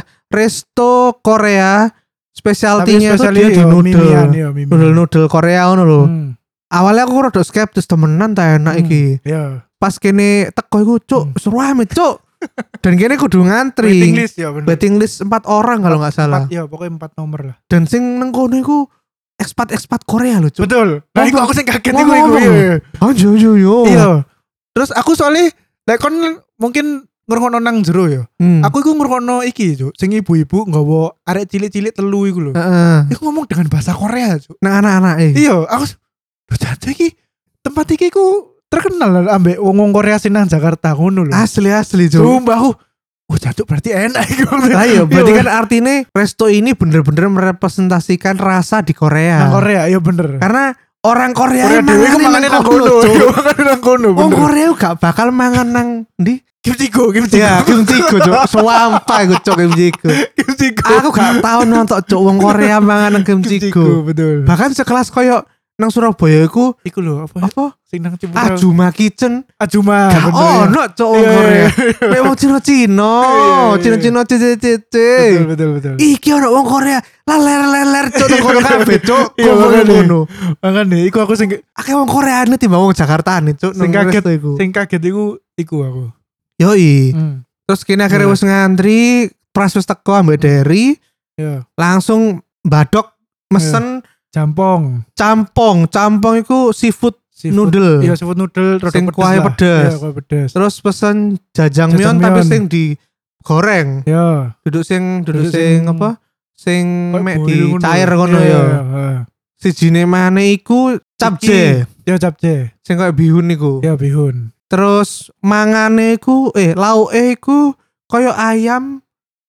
resto Korea. Spesialtinya itu dia di noodle. iya, Noodle-noodle Korea ngono lho. Hmm. Awalnya aku rada skeptis temenan ta enak Hmm. iki. Iya. Pas kene teko iku cuk Hmm. seru amat cuk. Dan kene kudu ngantri. Waiting list ya bener. Waiting list empat orang kalau nggak salah. Empat, iya pokoknya empat nomor lah. Dan sing nang kono iku ekspat-ekspat Korea lho cuk. Betul. Nah Ngomong- iku aku sing kaget iku ngomong- iku. Iya. Anjo yo yo. Iya. Terus aku soalnya lek kon mungkin ngrungokno nang jero ya. Hmm. Aku iku ngrungokno iki, Cuk. Sing ibu-ibu nggawa arek cilik-cilik telu iku lho. Heeh. Iku ngomong dengan bahasa Korea, Cuk. Nang anak-anak eh. Iya, aku lho jatuh iki tempat iki ku terkenal lah ambek wong-wong Korea sing nang Jakarta ngono lho. Asli asli cuk. Sumpah aku. Oh, jatuh berarti enak iku. Lah iya berarti Iya, kan artinya resto ini bener-bener merepresentasikan rasa di Korea. nang Korea, iya bener. Karena orang Korea, Korea dhewe ku mangane nang kono, Cuk. Cuk. Mangane nang kono, Wong bener. Korea gak bakal mangan nang ndi? Kimchigo, kimchigo. Ya, kimchigo cuk. Sumpah iku cuk kimchigo. Kimchigo. Aku gak tau nonton cuk wong Korea mangan nang kimchigo. betul. Bahkan sekelas koyo nang Surabaya iku Iku lho apa? apa? Sing nang Ciputera. Ajuma Kitchen. Ajuma. Gak bener ya. ono cok wong Iya, iya, Korea. iya. Kayak wong Cina-Cina, Iya, iya, iya. Cina-Cina cici-cici. Betul betul betul. Iki ono wong Korea, laler-leler cok nang kono kabeh cok. Iya, Kono makanya. ngono. Makane iku aku sing Akeh wong Koreane timbang wong Jakartane cok sing nang kaget resto iku. sing kaget iku iku aku. Yoi. Hmm. Terus kini akhirnya Iya. wis ngantri, pras wis teko ambek Derry, Iya. langsung badok mesen Jampong. campong. Campong iku seafood Seafood. noodle. Iya seafood noodle rada Sing pedes kuahnya lah. pedes. Iya kuah pedes. Terus pesen jajangmyeon Jajangmyeon. tapi sing digoreng. Iya. Duduk sing duduk Duduk sing sing- apa? Sing Kayak mek boil di ngono. cair ngono Iya, ya. iya, iya. Sijine maneh iku capje. Ya capce. Sing koyo bihun iku. Ya bihun. Terus mangane iku eh lauke iku koyo ayam.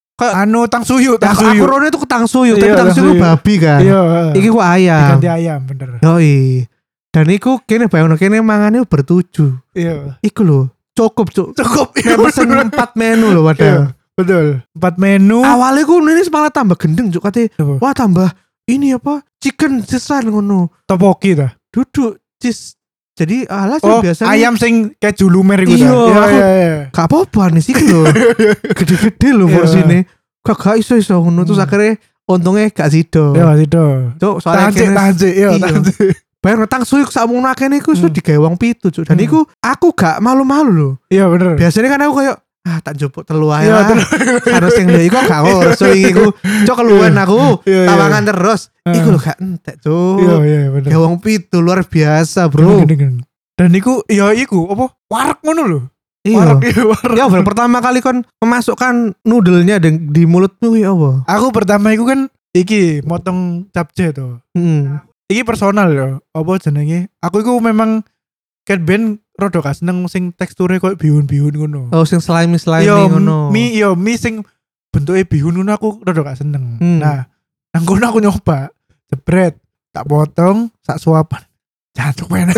Anu tangsuyu, Aku, aku tangsuyu. rone itu ketang suyu, tapi Iya, tang suyu tangsuyu. babi kan. Iya. Iki ku ayam. Diganti ayam bener. Yoi. Dan iku kene bayangno kene mangane bertujuh. Iya. Iku lho, cukup cuk. Cukup. Nek pesen empat menu lho Iya, padahal. betul. Empat menu. Awalnya ku ini malah tambah gendeng cuk kate. Apa? Wah tambah ini apa? Chicken sisan ngono. Topoki dah. Duduk cheese. Jadi alas Oh, biasanya ayam sing keju lumer iku Iya, dah. Iya, aku- iya, iya. gak apa-apa nih sih lho. Gede-gede lho Iya. porsine. Gak gak iso-iso ngono terus Hmm. akhirnya untungnya gak sido. Iya, itu. Cuk, soalnya Tancik, kene tancik, iya, Iya. tancik. bayar tang suyu sakmono akeh iku iso Hmm. digawe wong pitu cuk. Dan Hmm. iku aku gak malu-malu lho. Iya, bener. Biasanya kan aku kayak ah tak jupuk telu ae Iya, lah. Harus sing lho iku gak ngoso iku. Cuk keluwen aku. Iya, iya. Tawangan terus. Ah. Iku lho gak entek cuk. Iya, iya, bener. Ya wong pitu luar biasa, Bro. Gini, gini. Dan iku ya iku apa? Warak ngono lho. Iya. Warak iya, warak. Ya baru pertama kali kon memasukkan noodle-nya di, di mulutmu ya apa? Aku pertama iku kan iki motong capce to. Hmm. Iki personal ya. Apa jenenge? Aku iku memang ket ben rada gak seneng sing teksture koyo bihun-bihun ngono. Oh sing slimy-slimy Yo ngono. mie yo mie sing bentuke bihun ngono aku rada gak seneng. Hmm. Nah, nang kono aku nyoba jebret tak potong sak suapan. Jancuk enak.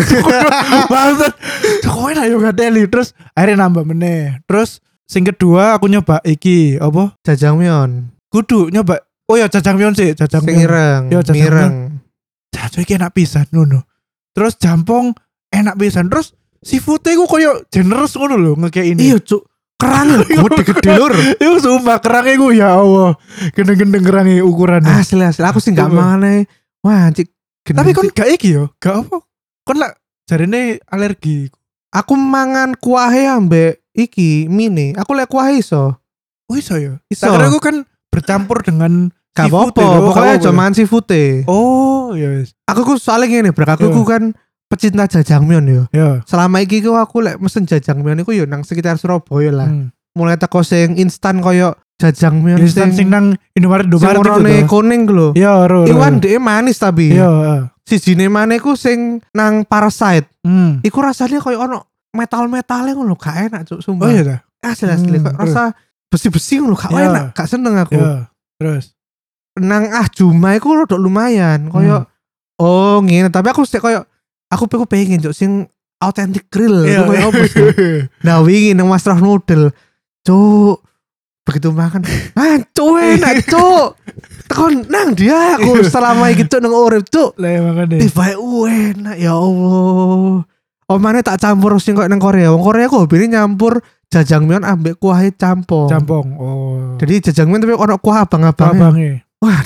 Banget. Cuk enak yo gak teli. Terus akhirnya nambah meneh. Terus sing kedua aku nyoba iki apa? Jajangmyeon. Kudu nyoba. Oh ya jajangmyeon sih, Sing jajangmyeon. ireng. Yo, jajangmyeon. Mireng. Jancuk iki enak pisan ngono. Terus jampong enak pisan. Terus seafood-e ku koyo generous ngono lho ngekek ini. Iya cuk. Kerangnya gede-gede lur. Iku sumpah kerangnya ku ya Allah. Gendeng-gendeng kerangnya ukurannya. Asli asli. Aku sih gak Coba. mangan ae. Wah cik. Tapi kon gak iki yo, gak apa. Kon lah jarine alergi. aku mangan kuahe ambek iki mini. Aku lek kuahe iso. Oh iso ya. Iso. Karena aku kan bercampur dengan Gak seafood apa-apa. ya, lho, Pokoknya gak aja apa-apa. mangan seafood-e. Oh ya wis. Aku ku soalnya gini bro. Aku Iya. ku kan pecinta jajangmyeon yo. Ya. Selama iki ku aku lek mesen jajangmyeon iku yo nang sekitar Surabaya lah. Hmm. Mulai teko sing instan koyo jajangmyeon Instan sing nang Indomaret sing Indomaret iku warnane to. kuning ku lho. Ya ro. ro. Iwan dhek manis tapi. Iya. heeh. Sijine maneh ku sing nang Parasite. Hmm. Iku rasanya koyo ono metal-metale ngono gak enak cuk sumpah. Oh iya dah. Asli asli Hmm, kok terus? rasa besi-besi ngono gak Iya. enak, gak seneng aku. Ya. Terus. Nang ah Juma iku rada lumayan koyo Hmm. oh ngene tapi aku sih koyo aku pengen pengen cuk sing authentic grill Iya. iku koyo apa sih? Nah wingi nang Mas Roh Noodle. Cuk begitu makan ah cuk enak cuk tekon nang dia aku selama iki cuk nang urip cuk Lah makane. tiba enak ya Allah omane tak campur sing koyo nang Korea wong Korea kok hobine nyampur jajangmyeon ambek kuah campur Campong. Oh. jadi jajangmyeon tapi ono kuah abang-abang abange. wah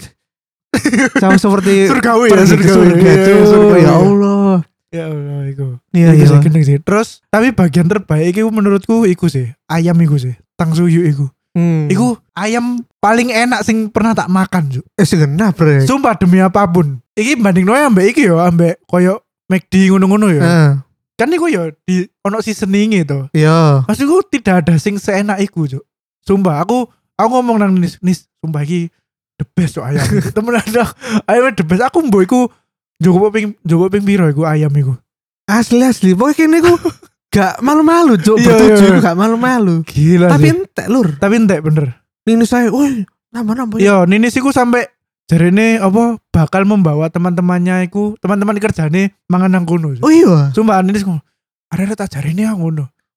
sama seperti Surgawi ya, pergi ke surgawi. surga Iya, cuk surgawi. ya Allah Ya Allah iku. iya Iku iya sih gendeng sih. Terus tapi bagian terbaik iku menurutku iku sih. Ayam iku sih. Tangsuyu iku. Hmm. Iku ayam paling enak sing pernah tak makan, Juk. eh segenap bre Sumpah demi apapun. Iki banding noe ambek iki yo, ambek koyo McD ngono-ngono yo. Heeh. Kan iku yo di ono seasoning itu. iya Maksudku tidak ada sing seenak iku, Juk. Sumpah aku aku ngomong nang nis, nis sumpah iki the best cok ayam. Temen ada ayam the best. Aku mbok iku Joko ping Joko ping piro iku ayam iku. asli asli pokoknya kene ku gak malu-malu cuk Iya, bertujuh iya. iku gak malu-malu Gila tapi sih. entek lur Tapi entek bener. ini saya woi nambah-nambah ya Yo, Nini siku sampai jarene apa bakal membawa teman-temannya iku, teman-teman kerjane mangan nang kono. oh iya Sumpah Nini siku, ada tak jarene aku ngono.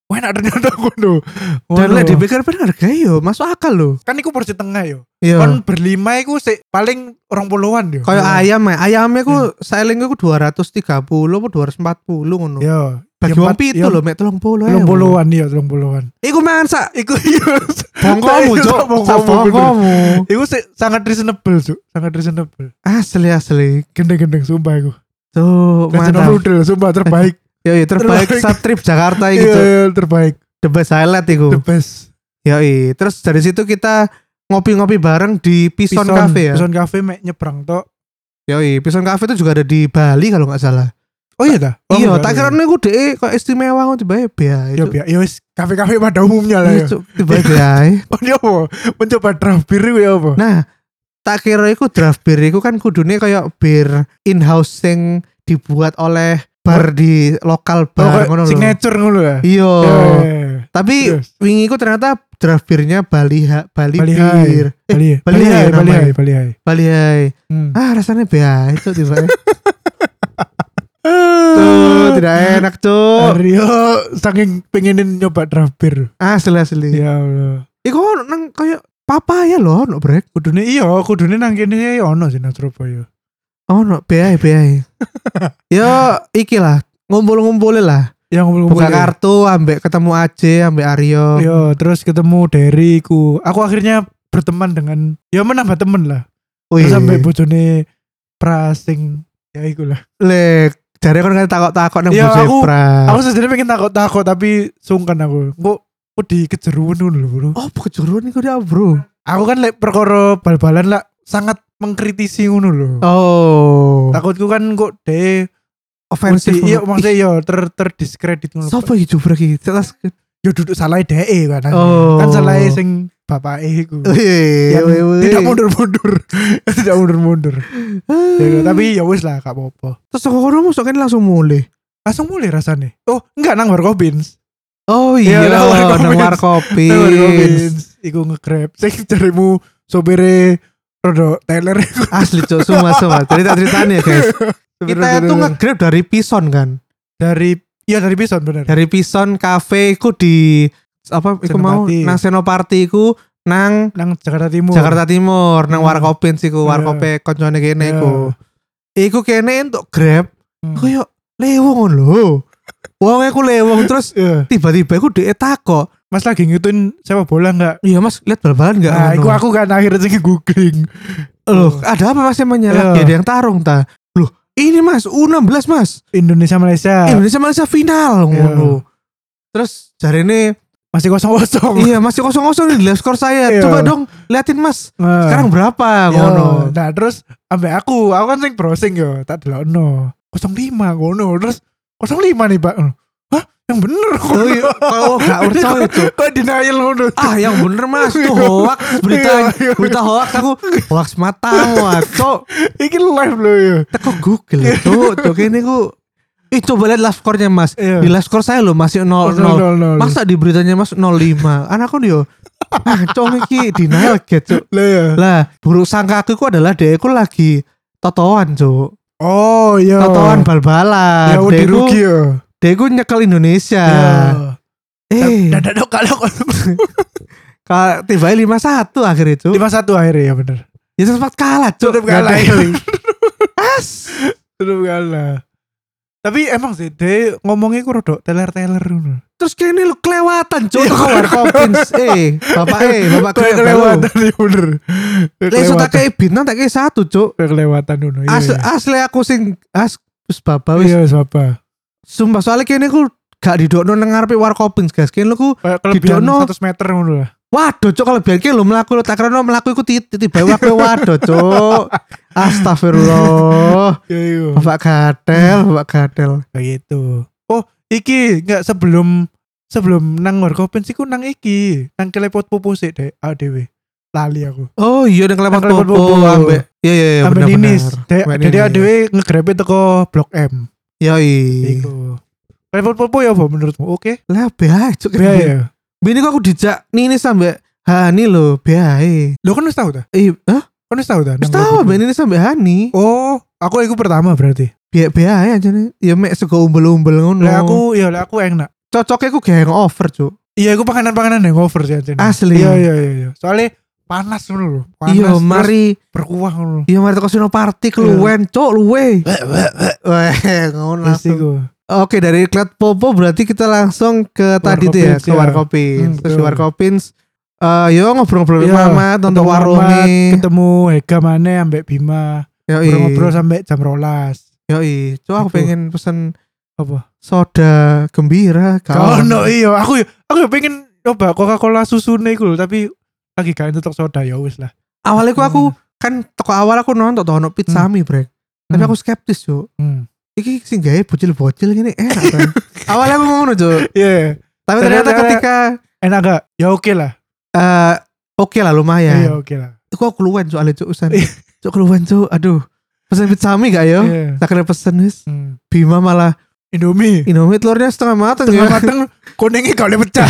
Wah enak ternyata ngono. Dan lek dipikir-pikir harga yo masuk akal loh. Kan iku porsi tengah yo. Iya. Kan berlima iku sik paling orang puluhan yo. Kayak ayam ya, ayamnya ku saling ku dua ratus tiga puluh atau dua ratus empat puluh ngono. Yo. Bagi wong pitu lho mek tiga puluh. tiga puluhan iya tiga puluhan. Iku mangan sak Iku iya. bongkomu cuk, sak bongkomu. Iku sik sangat reasonable cuk, sangat reasonable. Asli asli. Gendeng-gendeng sumpah iku. Tuh, mantap. Noodle sumpah terbaik. Yo, yo terbaik saat trip Jakarta iki cuk. Iya, terbaik. The best highlight iku. The best. Yoi, terus dari situ kita ngopi-ngopi bareng di Pison, Pison Cafe ya. Pison Cafe mek nyebrang tok. Yoi, Pison Cafe itu juga ada di Bali kalau nggak salah. Oh iya dah. Oh, iya, tak kira niku dhek kok istimewa ngono tiba ya. Ya biar ya wis kafe-kafe pada umumnya lah ya. Tiba ya. Oh dia apa? Mencoba draft beer iku ya apa? Nah, tak kira iku draft beer iku kan kudune kayak bir in-house sing dibuat oleh bar di lokal bar ngono lho. Signature ngono ya. Iya. Yeah. Tapi yes. wingi ku ternyata draft beernya Bali ha, Bali Bali beer. Eh, Bali Bali Hai, Bali Hai, Bali Hai. Bali Hai. Hmm. Ah, rasanya bea itu tiba. Tuh, tidak enak tuh. Aryo saking pengenin nyoba draft beer. Asli asli. Ya Allah. Iku nang kayak papaya loh, no brek. Kudune iya, kudune nang kene ono sih nang Surabaya. Oh no, beai beai. Yo, iki lah, ngumpul-ngumpulin lah. Yang ngumpul buka kartu, ambek ketemu Aje, ambek Aryo. Yo, terus ketemu Derry ku. Aku akhirnya berteman dengan, ya menambah temen lah. Terus sampai bojone Prasing, ya iku lah. Lek, jare kon kan takok-takok nang bojone Pras. Aku sebenarnya pengen takok-takok tapi sungkan aku. Kok kok dikejeruan dulu bro. Oh, kejeruan iku dia bro. Aku kan lek perkara bal-balan lah sangat mengkritisi ngono lho. Oh. Takutku kan kok de ofensif. Iya maksudnya yo ter terdiskredit ngono. Sopo iki jubrak iki? Telas yo duduk salah dhek kan. Oh. Kan salah sing bapake iku. Iya, tidak mundur-mundur. Tidak mundur-mundur. Ya, tapi ya wis lah gak apa-apa. Terus kok kono mosok kan langsung mulai. Langsung mulai rasane. Oh, enggak nang Warkopins. Oh iya, ya, nang Warkopins. Iku nge-grab. Sing jarimu sopire Rodo Taylor asli cok semua semua cerita-ceritanya guys. Kita itu nge-grab dari Pison kan. Dari iya dari Pison benar. Dari Pison Cafe iku di apa iku mau nang Senopati iku nang nang Jakarta Timur. Jakarta Timur nang hmm. Warkopins iku, Warkope koncone kene iku. Iku kene untuk Grab. Hmm. Koyo lewong lho. Wong aku lewong terus yeah. tiba-tiba aku dhek takok, "Mas lagi ngituin sepak bola enggak?" "Iya, Mas, lihat bal-balan enggak?" Nah, iku aku kan akhirnya sing googling. Loh, ada apa Mas emangnya yeah. lagi ada yang tarung ta? Loh, ini Mas, U enam belas Mas. Indonesia Malaysia. Indonesia Malaysia final ngono. Yeah. Terus jarene masih kosong-kosong. Iya, masih kosong-kosong di live score saya. Yeah. Coba dong liatin Mas. Nah. Sekarang berapa ngono. Nah, terus ambek aku, aku kan sing browsing yo, tak delokno. nol lima ngono. Terus nol lima nih Pak. Hah? Yang bener kok. Oh, iya. Kalau gak percaya itu. Kok denial ngono. Ah yang bener Mas. Itu hoax. Berita berita hoax. Aku hoax matamu. Cok. Ini live loh ya. Teko Google ya. Cok. Cok ini ku. Ih coba lihat live score-nya Mas. Iya. Di live score saya loh masih nol nol. Masa di beritanya Mas nol lima. Anakku dia. Ah cok ini denial gitu. Lah ya. Lah buruk sangka aku adalah dia aku lagi totoan Cok. Oh iya. Totoan bal-balan. Ya udah rugi ya. Dia gue nyekel Indonesia. Ya. Eh, dadak dok kalau kalau tiba lima satu akhir itu. lima satu akhirnya ya benar. Ya sempat kalah, Cuk. Tetap kalah. As. Tetap kalah. Tapi emang sih dia ngomongnya ku rodok teler-teler ngono. Terus kene lu kelewatan, Cuk. Kok Warkopins. Eh, Bapak eh, Bapak kelewatan ya bener. Leso tak kei bintang tak kei satu, Cuk. Kelewatan ngono. Asli aku sing as wis Bapak wis. Iya, wis Bapak. Sumpah soalnya kene ku gak didokno nang ngarepe Warkopins guys. Kene ku didokno seratus meter ngono lah. Waduh cok kalau biar kene lho mlaku tak kira mlaku iku tiba wae waduh cok. Astagfirullah. Bapak gatel, Bapak gatel. Begitu. Oh, iki enggak sebelum sebelum nang Warkopins iku nang iki, nang Kelepot Pupu sik dek A D W. Lali aku. Oh iya nang Kelepot Pupu ambek. Iya iya iya bener bener. Jadi A D W nge-grab teko Blok M. Yoi. Iku. Kelepot Pupu ya apa menurutmu? Oke. Lah beae cuk. Beae. Bini kok aku dijak Nini sampai Hani loh beae. Lo kan wis tahu ta? Iya, hah? Kan wis tahu ta? Wis tahu ben ini sampai Hani. Oh, aku iku pertama berarti. Biar beae aja nih. Ya mek sego umbel-umbel ngono. Lah aku ya lah aku enak. cocoknya ku gak hangover, Cuk. Iya, aku panganan-panganan hangover sih anjir. Asli. Iya iya iya iya. Soalnya panas ngono lho. Panas. Iya, mari berkuah ngono. Iya, mari teko sino party keluwen, Cuk, luwe. Weh, ngono langsung. Oke, dari Klat Popo berarti kita langsung ke tadi tuh ya, ke Warkopins. Terus Warkopins eh yo ngobrol-ngobrol Mamat untuk warungnya, ketemu Hega maneh ambek Bima. Ngobrol sampai jam rolas. Yoi, coba aku pengen pesen apa? Soda gembira. Oh no iya, aku aku pengen coba Coca-Cola susu nih gue, tapi lagi gak untuk soda ya wis lah. Awalnya aku, hmm. aku kan toko awal aku nonton toko no pizza hmm. mie brek, tapi hmm. aku skeptis yo. Hmm. Iki sing gawe bocil-bocil gini enak kan. Awalnya aku ngono Cuk. Iya. Yeah. Tapi ternyata, ternyata ketika enak gak? Ya oke okay lah. Eh uh, oke okay lah lumayan. Iya oke okay lah. Iku aku keluwen soalnya Cuk usan. Cuk keluwen Cuk. Aduh. Pesen pizza mie gak yo? Yeah. Tak kena pesen wis. Hmm. Bima malah Indomie. Indomie telurnya setengah matang. Setengah matang kuningnya gak boleh pecah.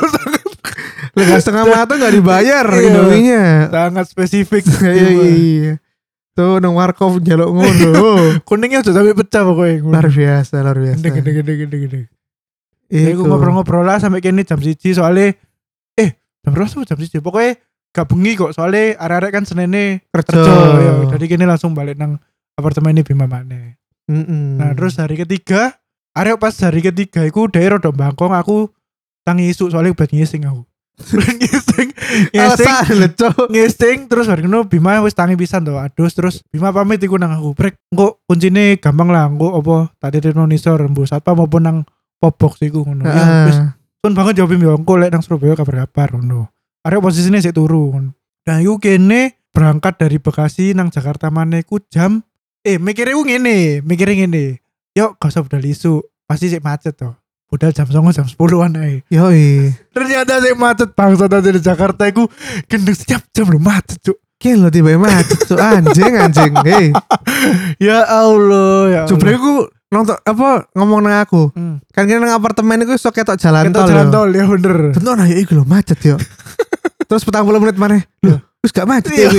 Lega setengah matang gak dibayar Indominya. Sangat spesifik. Iya iya. Tuh nang warkop njaluk ngono. Kuningnya udah sampai pecah pokoknya. Luar biasa, luar biasa. Gede gede gede gede gede. Iku ngobrol-ngobrol lah sampai kini jam siji soalnya eh jam berapa jam siji pokoknya gak bengi kok soalnya arek-arek kan senene kerja. Ya, jadi kini langsung balik nang apartemen ini Bima maneh. Mm-mm. Nah terus hari ketiga arek pas hari ketiga iku daerah do bangkong aku tangi isu soalnya buat ngising aku. ngising ngising ngising terus hari keno Bima wis tangi pisan to adus terus Bima pamit iku nang aku brek engko kuncine gampang lah engko apa tadi renonisor rembu satpam maupun nang popbox iku ngono uh. ya wis sun banget jawab Bima engko lek nang Surabaya kabar-kabar ngono arek posisine sik turu dan iku kene berangkat dari Bekasi nang Jakarta maneh iku jam eh mikire ku ngene mikire ngene yuk gak usah budal isu pasti sik macet to budal jam songo jam sepuluhan ae. Yoi. Ternyata saya macet bangsa tadi di Jakarta iku gendeng setiap jam lu macet cuk. Kira lo tiba macet cuk anjing anjing. Hey. Ya Allah ya. Coba aku nonton apa ngomong nang aku. Hmm. Kan kira nang apartemen iku iso ketok jalan tol. Ketok jalan tol ya bener. Tentu nah iku lho macet yo. Terus petang puluh menit maneh. Loh, wis gak macet ya.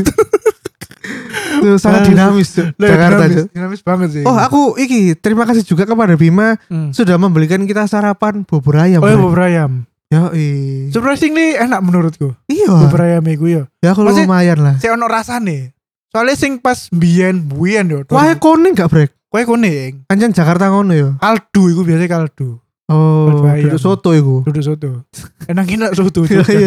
Tuh sangat dinamis tuh Jakarta dinamis, dinamis banget sih. Oh aku iki terima kasih juga kepada Bima hmm. sudah membelikan kita sarapan bubur ayam. Oh ya bubur ayam. Ya iya. Surprisingly enak menurutku. Iya. Bubur ayam iku ya. Ya aku lumayan lah. Saya ono rasane. Soalnya sing pas biyen buyen yo. Wah kuning gak brek? Kue kuning. Anjing Jakarta ngono yo. Kaldu iku biasa kaldu. Oh, duduk soto iku. Duduk soto. Enak-enak soto. Iya.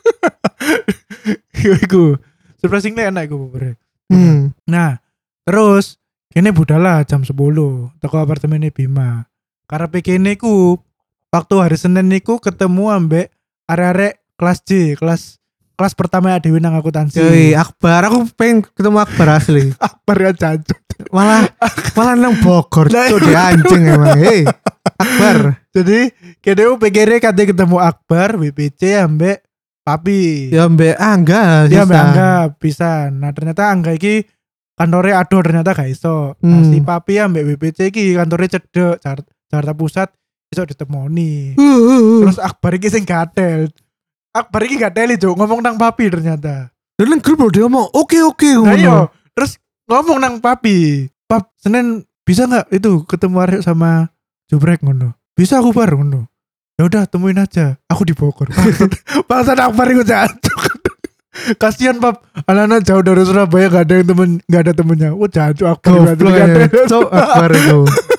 Iku. Surprisingly enak iku bubur. Hmm. Nah, terus kene budala jam sepuluh toko apartemen Bima. Karepe kene ku waktu hari Senin niku ketemu ambek arek-arek kelas J, kelas kelas pertama Dewi nang akuntansi. Yoi, Akbar, aku pengen ketemu Akbar asli. Akbar ya cacut. Malah malah nang Bogor tuh di anjing emang. Hei, Akbar. Jadi kene ku P G R kate ketemu Akbar, B P C ambek Papi. Ya mbak Angga. Ya mbak Angga bisa. Nah ternyata Angga iki kantornya ado ternyata gak iso. Hmm. Nah si Papi ya mbak B P C iki kantornya cedek Jakarta Pusat iso ditemoni. Uh, uh, uh. Terus Akbar iki sing gatel. Akbar iki gatel itu ngomong nang Papi ternyata. Dan nang grup dia ngomong oke oke nah, ngono. Terus ngomong nang Papi. Pap Senin bisa gak itu ketemu Arek sama Jubrek ngono. Bisa aku bar ngono. Ya udah temuin aja, aku di Bogor. Bangsat Akbar itu jatuh. Kasihan pap, anak-anak jauh dari Surabaya gak ada yang temen, gak ada temennya. Wah jatuh Akbar. Cok Akbar itu.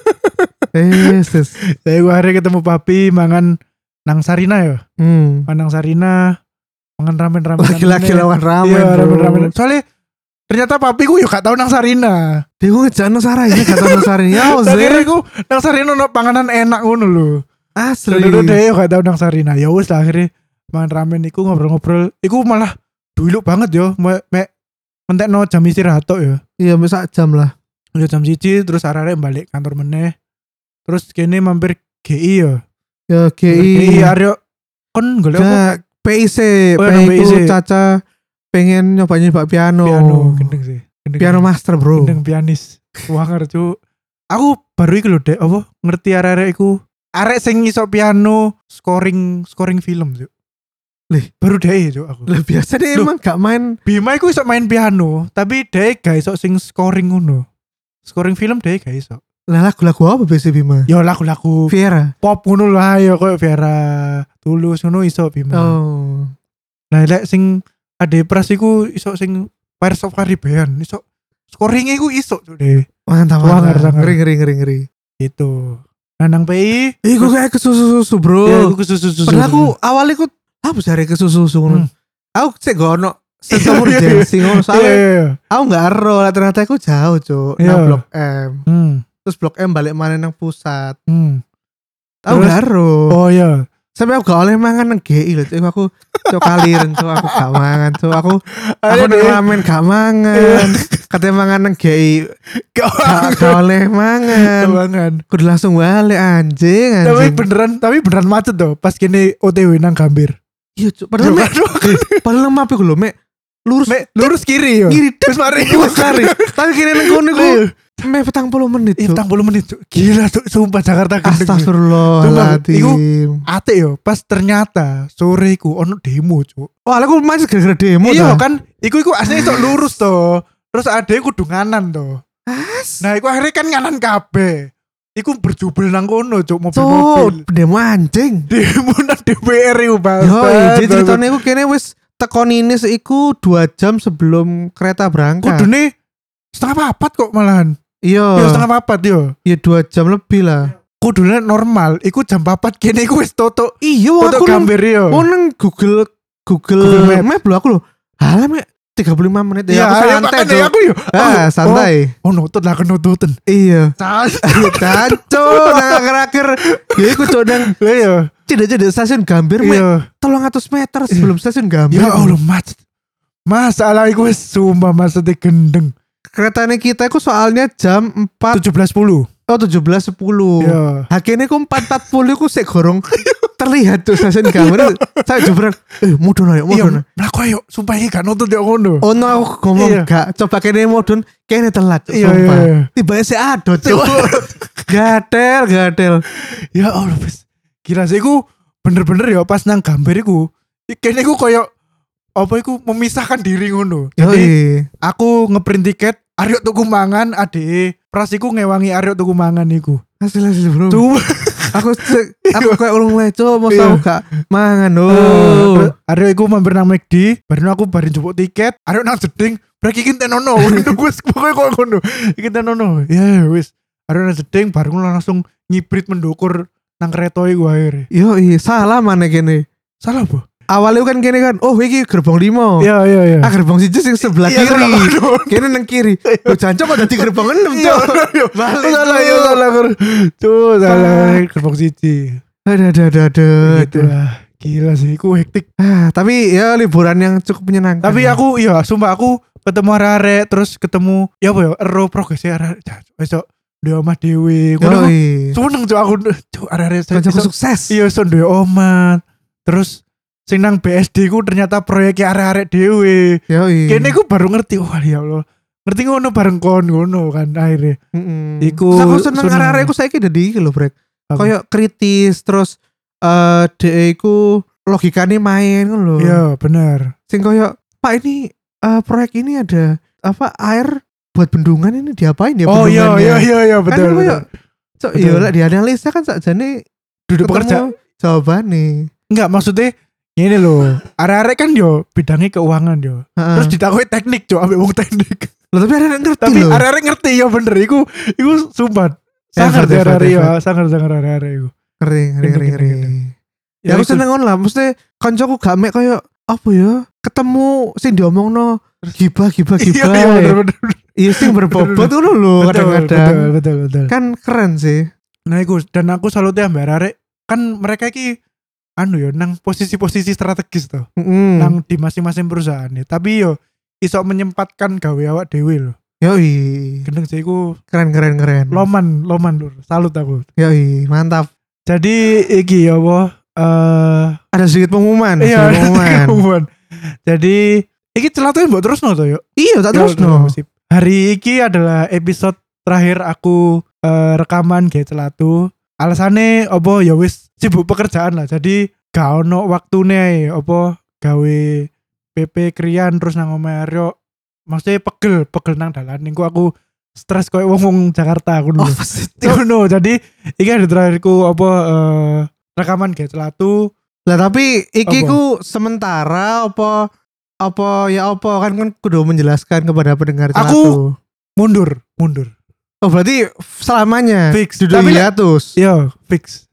Yesus. Saya gua hari ketemu Papi mangan nang Sarina ya. Hmm. Nang Sarina, mangan ramen-ramen. Laki-laki lawan ramen. Iya ramen-ramen. Soalnya ternyata Papi ku yuk gak tau nang Sarina. Dia gue ngejak nang Sarina, gak tau nang Sarina. Ya Akhirnya ku nang Sarina no panganan enak ngono lho. Asli. Dulu deh gak tau nang Sarina. Ya wis lah akhirnya mangan ramen iku ngobrol-ngobrol. Iku malah dulu banget yo. Mek me, mentekno jam istirahat tok ya. Iya sak jam lah. Udah jam siji terus arek balik kantor meneh. Terus kene mampir G I ya. Ya G I. G I Aryo kon golek apa? P I C. Oh, P I C Caca pengen nyoba-nyoba piano. Piano gendeng sih. Gendeng piano gendeng. Master bro. Gendeng pianis. Wanger cu. Aku baru iki lho Dek, apa ngerti arek-arek iku. Arek sing iso piano scoring scoring film tuh. Lih, baru deh itu aku. Lah biasa deh emang gak main. Bima iku iso main piano, tapi deh gak iso sing scoring ngono. Scoring film deh gak iso. Lah lagu-lagu apa biasa Bima? Ya lagu-lagu Viera. pop ngono lah ya koyo Vera Tulus ngono iso Bima. Oh. Nah lek sing Ade Pras iku iso sing Pirates of Caribbean iso scoringnya iku iso Cuk Dewi. Mantap, Wah, mantap. ngeri, Ngeri ngeri ngeri ngeri. Gitu. Nah nang P I Iku kayak kesusu-susu, Bro. ya aku kesusu-susu. Padahal aku awalnya aku apa cari kesusu-susu ngono. Hmm. Aku sik gak ono sense of urgency ngono Iya, soalnya iya, iya. aku gak ero lah ternyata aku jauh, Cuk. Iya. Nang Blok M. Hmm. Terus Blok M balik mana nang pusat. Hmm. Aku Terus? gak ero. Oh iya. Sampai aku gak oleh mangan nang G I lho, Cuk. Aku Cuk kaliren, Cuk. Aku gak mangan, Cuk. Aku aku Ayo nang deh. ramen gak mangan. Katanya mangan nang G I gak, gak oleh mangan. Kebangan. Kudu langsung balik anjing, Tapi anjing. beneran, tapi beneran macet tuh pas kini O T W nang Gambir. Iya, Cuk. Padahal mek padahal nang map iku lho, mek lurus Mek lurus kiri yo. kiri Terus mari. Wes kari. Tapi kini nang kono iku mek petang puluh menit, Iya, Cuk. petang puluh menit Cuk. Gila Cuk, sumpah Jakarta gendeng. Astagfirullahaladzim. Ate yo, pas ternyata sore iku ono demo Cuk. Wah, aku macet gara-gara demo Iya ta. kan, iku iku aslinya iso lurus to. Terus ade kudu nganan to. As. Nah, iku akhirnya kan nganan kabeh. Iku berjubel nang kono Cuk, Cuk, mobil-mobil. demo anjing. Demo nang D P R iku Bang. Yo, jadi ceritanya iku kene wis teko Ninis iku dua jam sebelum kereta berangkat. kudune setengah papat kok malahan. Iya. Yo setengah papat yo. Iya dua jam lebih lah. Kudune normal, iku jam papat kene iku wis toto. Iya, wong Toto aku nang Gambir yo. oh, nang Google Google, Google Map. Map lho aku lho. Halah mek tiga puluh lima menit ya. Iya, Aku ayo, santai, makanya Cuk. aku yo. Ah, santai. Oh, oh nutut lah kenututan. Iya. Santai. Canco nang akhir-akhir. Ya iku Cuk nang Iya. tidak-tidak stasiun Gambir mek Iya. tolong atus meter sebelum stasiun Gambir. Ya Allah macet. Masalah iku wis sumpah macetnya gendeng. Keretanya kita iku soalnya jam empat tujuh belas sepuluh. oh tujuh belas sepuluh. Iya. Hakene ku empat empat puluh ku sik gorong terlihat tuh stasiun Gambir. Saya jebret, eh mudun ayo Iya, mudun. mlaku ayo sumpah iki gak nutut yo ngono. Oh no aku ngomong Iya. gak coba kene mudun kene telat Cuk, Iya, sumpah. iya, iya. Tiba si ado Cuk. Gatel gatel. Ya Allah wis. Gila sih iku bener-bener ya pas nang Gambir iku. Kene iku koyo apa iku memisahkan diri ngono. Jadi Yoi. aku ngeprint tiket Aryo tuku mangan ade Pras iku ngewangi Aryo tuku mangan iku. Hasil hasil bro. Cuma Aku se- aku kayak ulung leco mau Iya. tau gak mangan oh. oh. Aryo iku mampir nang McD, bareng aku barin jupuk tiket, Aryo nang jeding, brek iki tenono. Wis pokoke koyo ngono. Iki tenono. Ya wis. Aryo nang jeding bareng langsung ngibrit mendukur nang kereta iku akhirnya. Yo iya salah mana kene. Salah apa? Awalnya kan kene kan, oh iki gerbong limo. Iya iya iya. Ah gerbong siji sing sebelah Iya, kiri. sebelah kanan. Kene nang kiri. Lo jancok kok dadi gerbong enam Iya, Cuk. iya. Balik, salah Cuk. ya salah tuh salah gerbong siji. Aduh aduh aduh aduh. Gitu aduh. lah. Gila sih, aku hektik. Ah, tapi ya liburan yang cukup menyenangkan. Tapi aku iya sumpah aku ketemu arek terus ketemu ya apa ya ero progresnya arek besok di omah dewe ngono. Yoi. Seneng cuk aku cuk arek-arek Kancaku iso- sukses. iya son duwe omah. Terus sing nang B S D ku ternyata proyeknya arek-arek dewe. Yoi. Kene ku baru ngerti oh ya Allah. Ngerti ngono bareng kon ngono kan akhirnya. Mm-mm. Iku Terus aku seneng seneng. arek-arek aku saiki dadi iki lho, Brek. Apa? Kayak kritis terus eh dhek iku logikane main ngono lho. Iya bener. Sing kayak Pak ini eh, proyek ini ada apa air buat bendungan ini diapain ya Oh iya bendungannya? iya iya iya Kan betul. kayak, betul. Cok, Betul. iya lah dianalisa kan sakjane Duduk ketemu pekerja. jawabannya. Enggak maksudnya ini loh. Arek-arek kan yo bidangnya keuangan yo. Heeh. Terus ditakoki teknik cok ambek wong teknik. Loh, tapi arek ngerti Tapi loh. arek-arek ngerti ya bener iku iku sumpah. Sangar Effort, deh effort, arek ya, effort. sangar sangar arek-arek iku. Ngeri ngeri ngeri Gendeng, ngeri. gendeng, Ya aku itu. seneng ngono lah, mesti kancaku gak mek kayak apa ya? Ketemu sing diomongno gibah gibah Iya gibah. iya ya. bener bener. Iya sing berbobot ngono lho Betul, kadang-kadang. Betul betul betul. Kan keren sih. Nah iku dan aku selalu ambek arek kan mereka iki anu yo nang posisi-posisi strategis tuh. Heeh. Nang di masing-masing perusahaan ya. Tapi yo iso menyempatkan gawe awak dhewe lho. Yoi. Gendeng sih iku Keren keren keren. loman loman lur. Salut aku. Yoi, mantap. Jadi iki ya apa eh Ada sedikit pengumuman, iya sedikit pengumuman. pengumuman. Jadi iki celatuin mbok terusno to yo. Iya, tak terus Ya, no. sip. Hari iki adalah episode terakhir aku eh, rekaman ge celatu. Alasannya apa ya wis sibuk pekerjaan lah. Jadi gak ono waktune apa gawe P P krian terus nang omahe Aryo. Maksudnya pegel, pegel nang dalan. Niku aku stres koyo wong-wong Jakarta aku Oh, dulu. Ngono, jadi iki ada terakhirku apa eh, rekaman kayak celatu. Lah tapi iki Apa? ku sementara apa apa ya apa kan kan kudu menjelaskan kepada pendengar Aku- celatu. Mundur, mundur. Oh berarti selamanya Fix. duduk Tapi lek- hiatus. Yo, fix.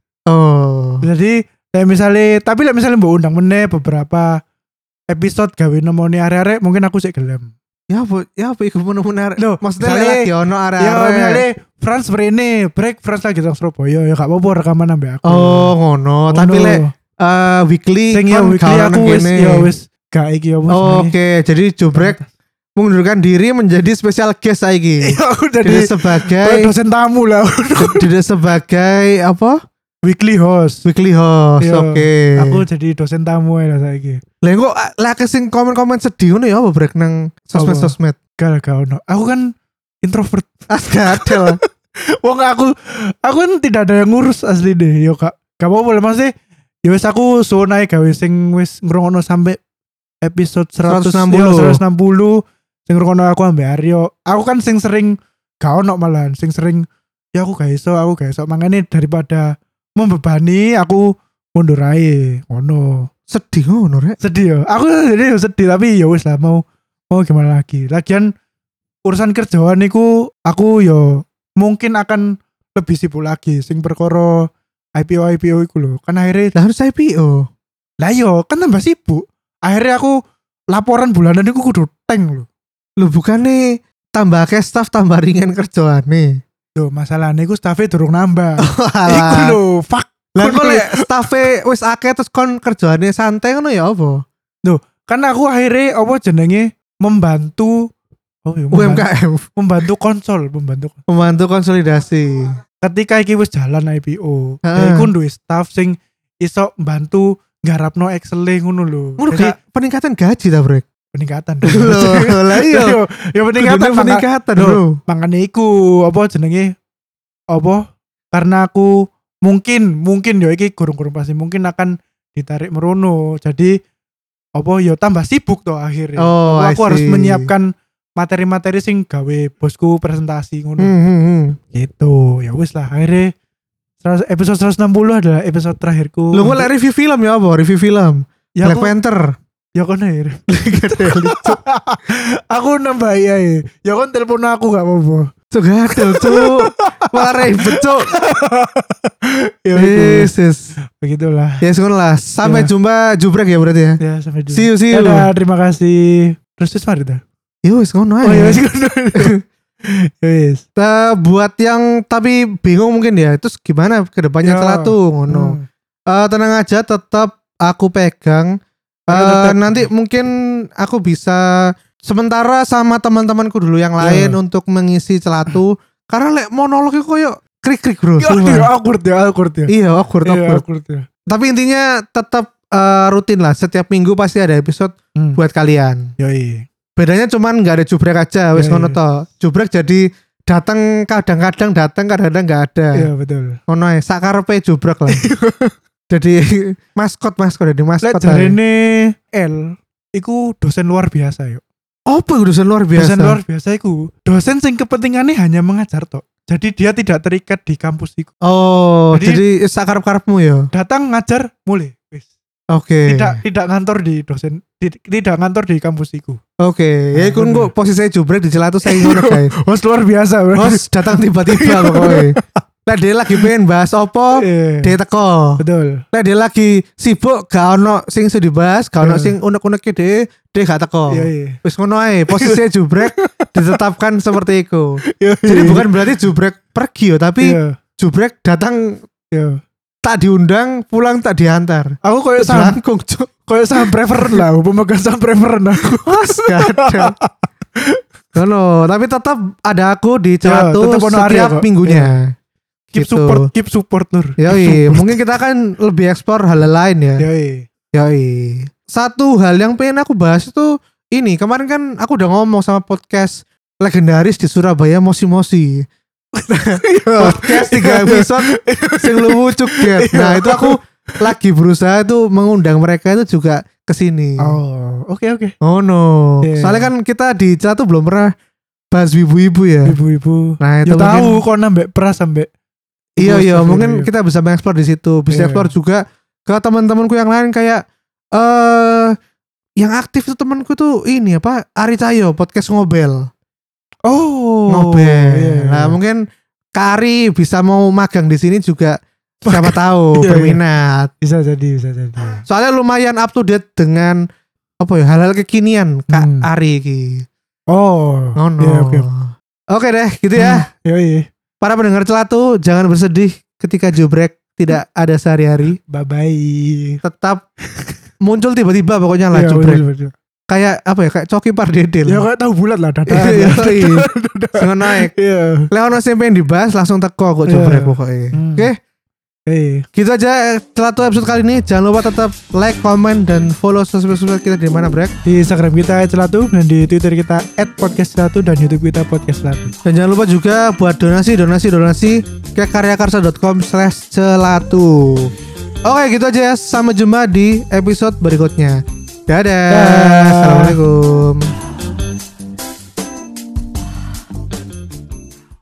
Oh. Jadi kayak misalnya, tapi lah misalnya mbok undang meneh beberapa episode gawe nemoni arek-arek mungkin aku sik gelem. Ya apa ya apa iku menarik. Loh, Maksudnya misalnya- lagi ono Ya area-area. misalnya Frans berene break Frans lagi nang Surabaya ya gak apa-apa rekaman ambek aku. Oh ngono, tapi Ngono. lek eh, weekly sing ya kan weekly gak ono aku nang wis kene. ya wis gak iki apa Oh, Oke, jadi Jubrek mengundurkan diri menjadi spesial guest saiki. Iya, aku Tidak jadi sebagai dosen tamu lah. tidak sebagai apa? Weekly host. Weekly host. Iya, Oke. Aku jadi dosen tamu ya saiki. Lah kok lah kesing komen-komen sedih ngono ya apa Brek nang sosmed-sosmed. Gak gak ono. Aku kan introvert. Ah gak ada lah. Wong aku aku kan tidak ada yang ngurus asli deh. Yo kak. Gak apa-apa lah maksudnya. Ya wis aku suwun ae gawe sing wis ngrungokno sampai episode seratus seratus enam puluh. ya, seratus enam puluh sing ngrungokno aku ambek Aryo. Aku kan sing sering gak ono malahan, sing sering ya aku gak iso, aku gak iso. Makanya daripada membebani aku mundur ae. Ngono. Sedih ngono rek. Sedih ya. Aku jadi sedih tapi ya wis lah mau mau gimana lagi. Lagian urusan kerjaan niku aku yo mungkin akan lebih sibuk lagi sing perkara I P O I P O iku lho. Kan akhirnya Lah harus I P O. lah yo kan tambah sibuk. Akhirnya aku laporan bulanan iku kudu tank lho. Lu bukannya tambah ke staff tambah ringan kerjaane. Yo masalahnya iku staffnya durung nambah. Iku Alah. lho, fuck. Lah kok lek staffe wis akeh terus kon kerjaane santai ngono ya apa? Kan aku akhirnya apa jenenge membantu oh iya, U M membantu, K M membantu konsol, membantu membantu konsolidasi. ketika iki wis jalan I P O, Heeh. ya iku duwe staff sing iso bantu nggarapno Excel ngono lho. Ngono Jadi gak peningkatan gaji ta, Brek? peningkatan. Loh, lah iya. Yo, ya peningkatan Kudune peningkatan, Loh. Bro. Makane iku apa jenenge? Apa? Karena aku mungkin mungkin yo iki gurung-gurung pasti mungkin akan ditarik merono. Jadi apa yo tambah sibuk toh akhirnya. Oh, Apa I aku harus see. menyiapkan materi-materi sing gawe bosku presentasi ngono. Hmm, hmm, hmm. Gitu. Ya wis lah akhirnya seratus episode seratus enam puluh adalah episode terakhirku. Lu nggak review film ya apa? Review film. ya Black aku, Panther. ya kan ya. Aku nambah ya. Ya kan telepon aku gak apa-apa. Cuk gatel, cuk. Malah ribet, cuk. Ya itu. Yes, yes. Begitulah. Ya ngono lah. Sampai Ya. jumpa Jubrek ya berarti ya. Ya sampai jumpa. See you, see you. Dadah, terima kasih. Terus terus mari dah. Ya wis ngono aja. Oh ya wis. Ya wis. Nah, buat yang tapi bingung mungkin ya, terus gimana ke depannya Ya. celatu ngono. Hmm. Eh, tenang aja, tetap aku pegang. Ya, Eh, tetap. nanti mungkin aku bisa sementara sama teman-temanku dulu yang lain Ya. untuk mengisi celatu. Karena lek monolog itu koyo krik-krik bro. Ya, sumpah. ya awkward ya, awkward ya. Iya awkward, Iya, awkward. awkward ya. Tapi intinya tetap eh, rutin lah. Setiap minggu pasti ada episode Hmm. buat kalian. Yoi. Bedanya cuman nggak ada Jubrek aja. Wis Ya, ngono iya. toh. Jubrek jadi datang kadang-kadang datang kadang-kadang nggak ada. Iya betul. Ngono ae sakarepe Jubrek lah. Jadi maskot maskot jadi Lek maskot. ae. jarene L iku dosen luar biasa yuk. Apa itu dosen luar biasa? Dosen luar biasa iku dosen sing kepentingannya hanya mengajar tok. Jadi dia tidak terikat di kampus iku. Oh, Jadi- jadi, sakarep-karepmu ya. Datang ngajar mulai. Wis. Oke. Tidak tidak ngantor di dosen di- tidak ngantor di kampus iku. Oke, ya Nah, iku bener. kok posisi Jubrek di celatu saya ngono guys. Host luar biasa. bro. Bos datang tiba-tiba pokoknya. Lah dia lagi pengen bahas opo, Iya. dia teko. Betul. Lah dia lagi sibuk gak ono sing iso dibahas, gak ono Iya. sing unek-uneke dia, dia gak teko. Iya iya. Wis ngono ae, posisi Jubrek ditetapkan seperti itu. Iya, Jadi iya. bukan berarti Jubrek pergi yo, tapi Iya. Jubrek datang Iya. tak diundang, pulang tak diantar. Aku koyo saham Selangkung, cuk. koyo saham preferen lah, pemegang saham preferen aku. Mas gak ada. Ngono, tapi tetap ada aku di celatu tetap ono Arya setiap kok. minggunya. Keep Gitu. support, keep support Nur. Yoi, mungkin kita akan lebih eksplor hal lain ya. Yoi. Yoi. Satu hal yang pengen aku bahas itu ini, kemarin kan aku udah ngomong sama podcast legendaris di Surabaya, Mosi Mosi. Podcast tiga episode sing luwu cuket. Nah, itu aku lagi berusaha tuh mengundang mereka itu juga ke sini. Oh, oke oke. Oh no. Iya. Soalnya kan kita di Celatu belum pernah bahas ibu-ibu ya. Ibu-ibu. Nah, itu Ya tahu mungkin- kok nambah peras sampai. Iya iya, Terus, mungkin iya. kita bisa mengeksplor di situ. Bisa Iya. eksplor juga ke teman-temanku yang lain kayak eh yang aktif tuh temanku tuh ini apa? Ari Cahyo podcast ngobel. Oh. Ngobel. Iya. Nah, mungkin Kak Ari bisa mau magang di sini juga siapa tahu Iya, iya. berminat. Bisa jadi, bisa jadi. Soalnya lumayan up to date dengan apa ya hal-hal kekinian Kak Hmm. Ari iki. Oh. Ngono. Iya, oke. Oke deh, gitu ya. Hmm, yoi. Para pendengar celatu, jangan bersedih ketika jubrek tidak ada sehari-hari. Bye bye. Tetap muncul tiba-tiba pokoknya lah jubrek. Kayak apa ya? Kayak Coki Pardedel. Ya kayak tahu bulat lah dada. Iya, iya. Sing naik. Iya. Lek ono sing pengen dibahas langsung teko kok Iya. jubrek pokoknya. Hmm. Oke, Eh, gitu aja celatu episode kali ini. Jangan lupa tetap like, comment, dan follow sosial-sosial kita di mana Brek. di Instagram kita celatu dan di Twitter kita et podcast celatu dan YouTube kita podcast celatu. Dan jangan lupa juga buat donasi, donasi, donasi ke karyakarsa dot com slash celatu. Oke, gitu aja ya. Sampai jumpa di episode berikutnya. Dadah. Dah. Assalamualaikum.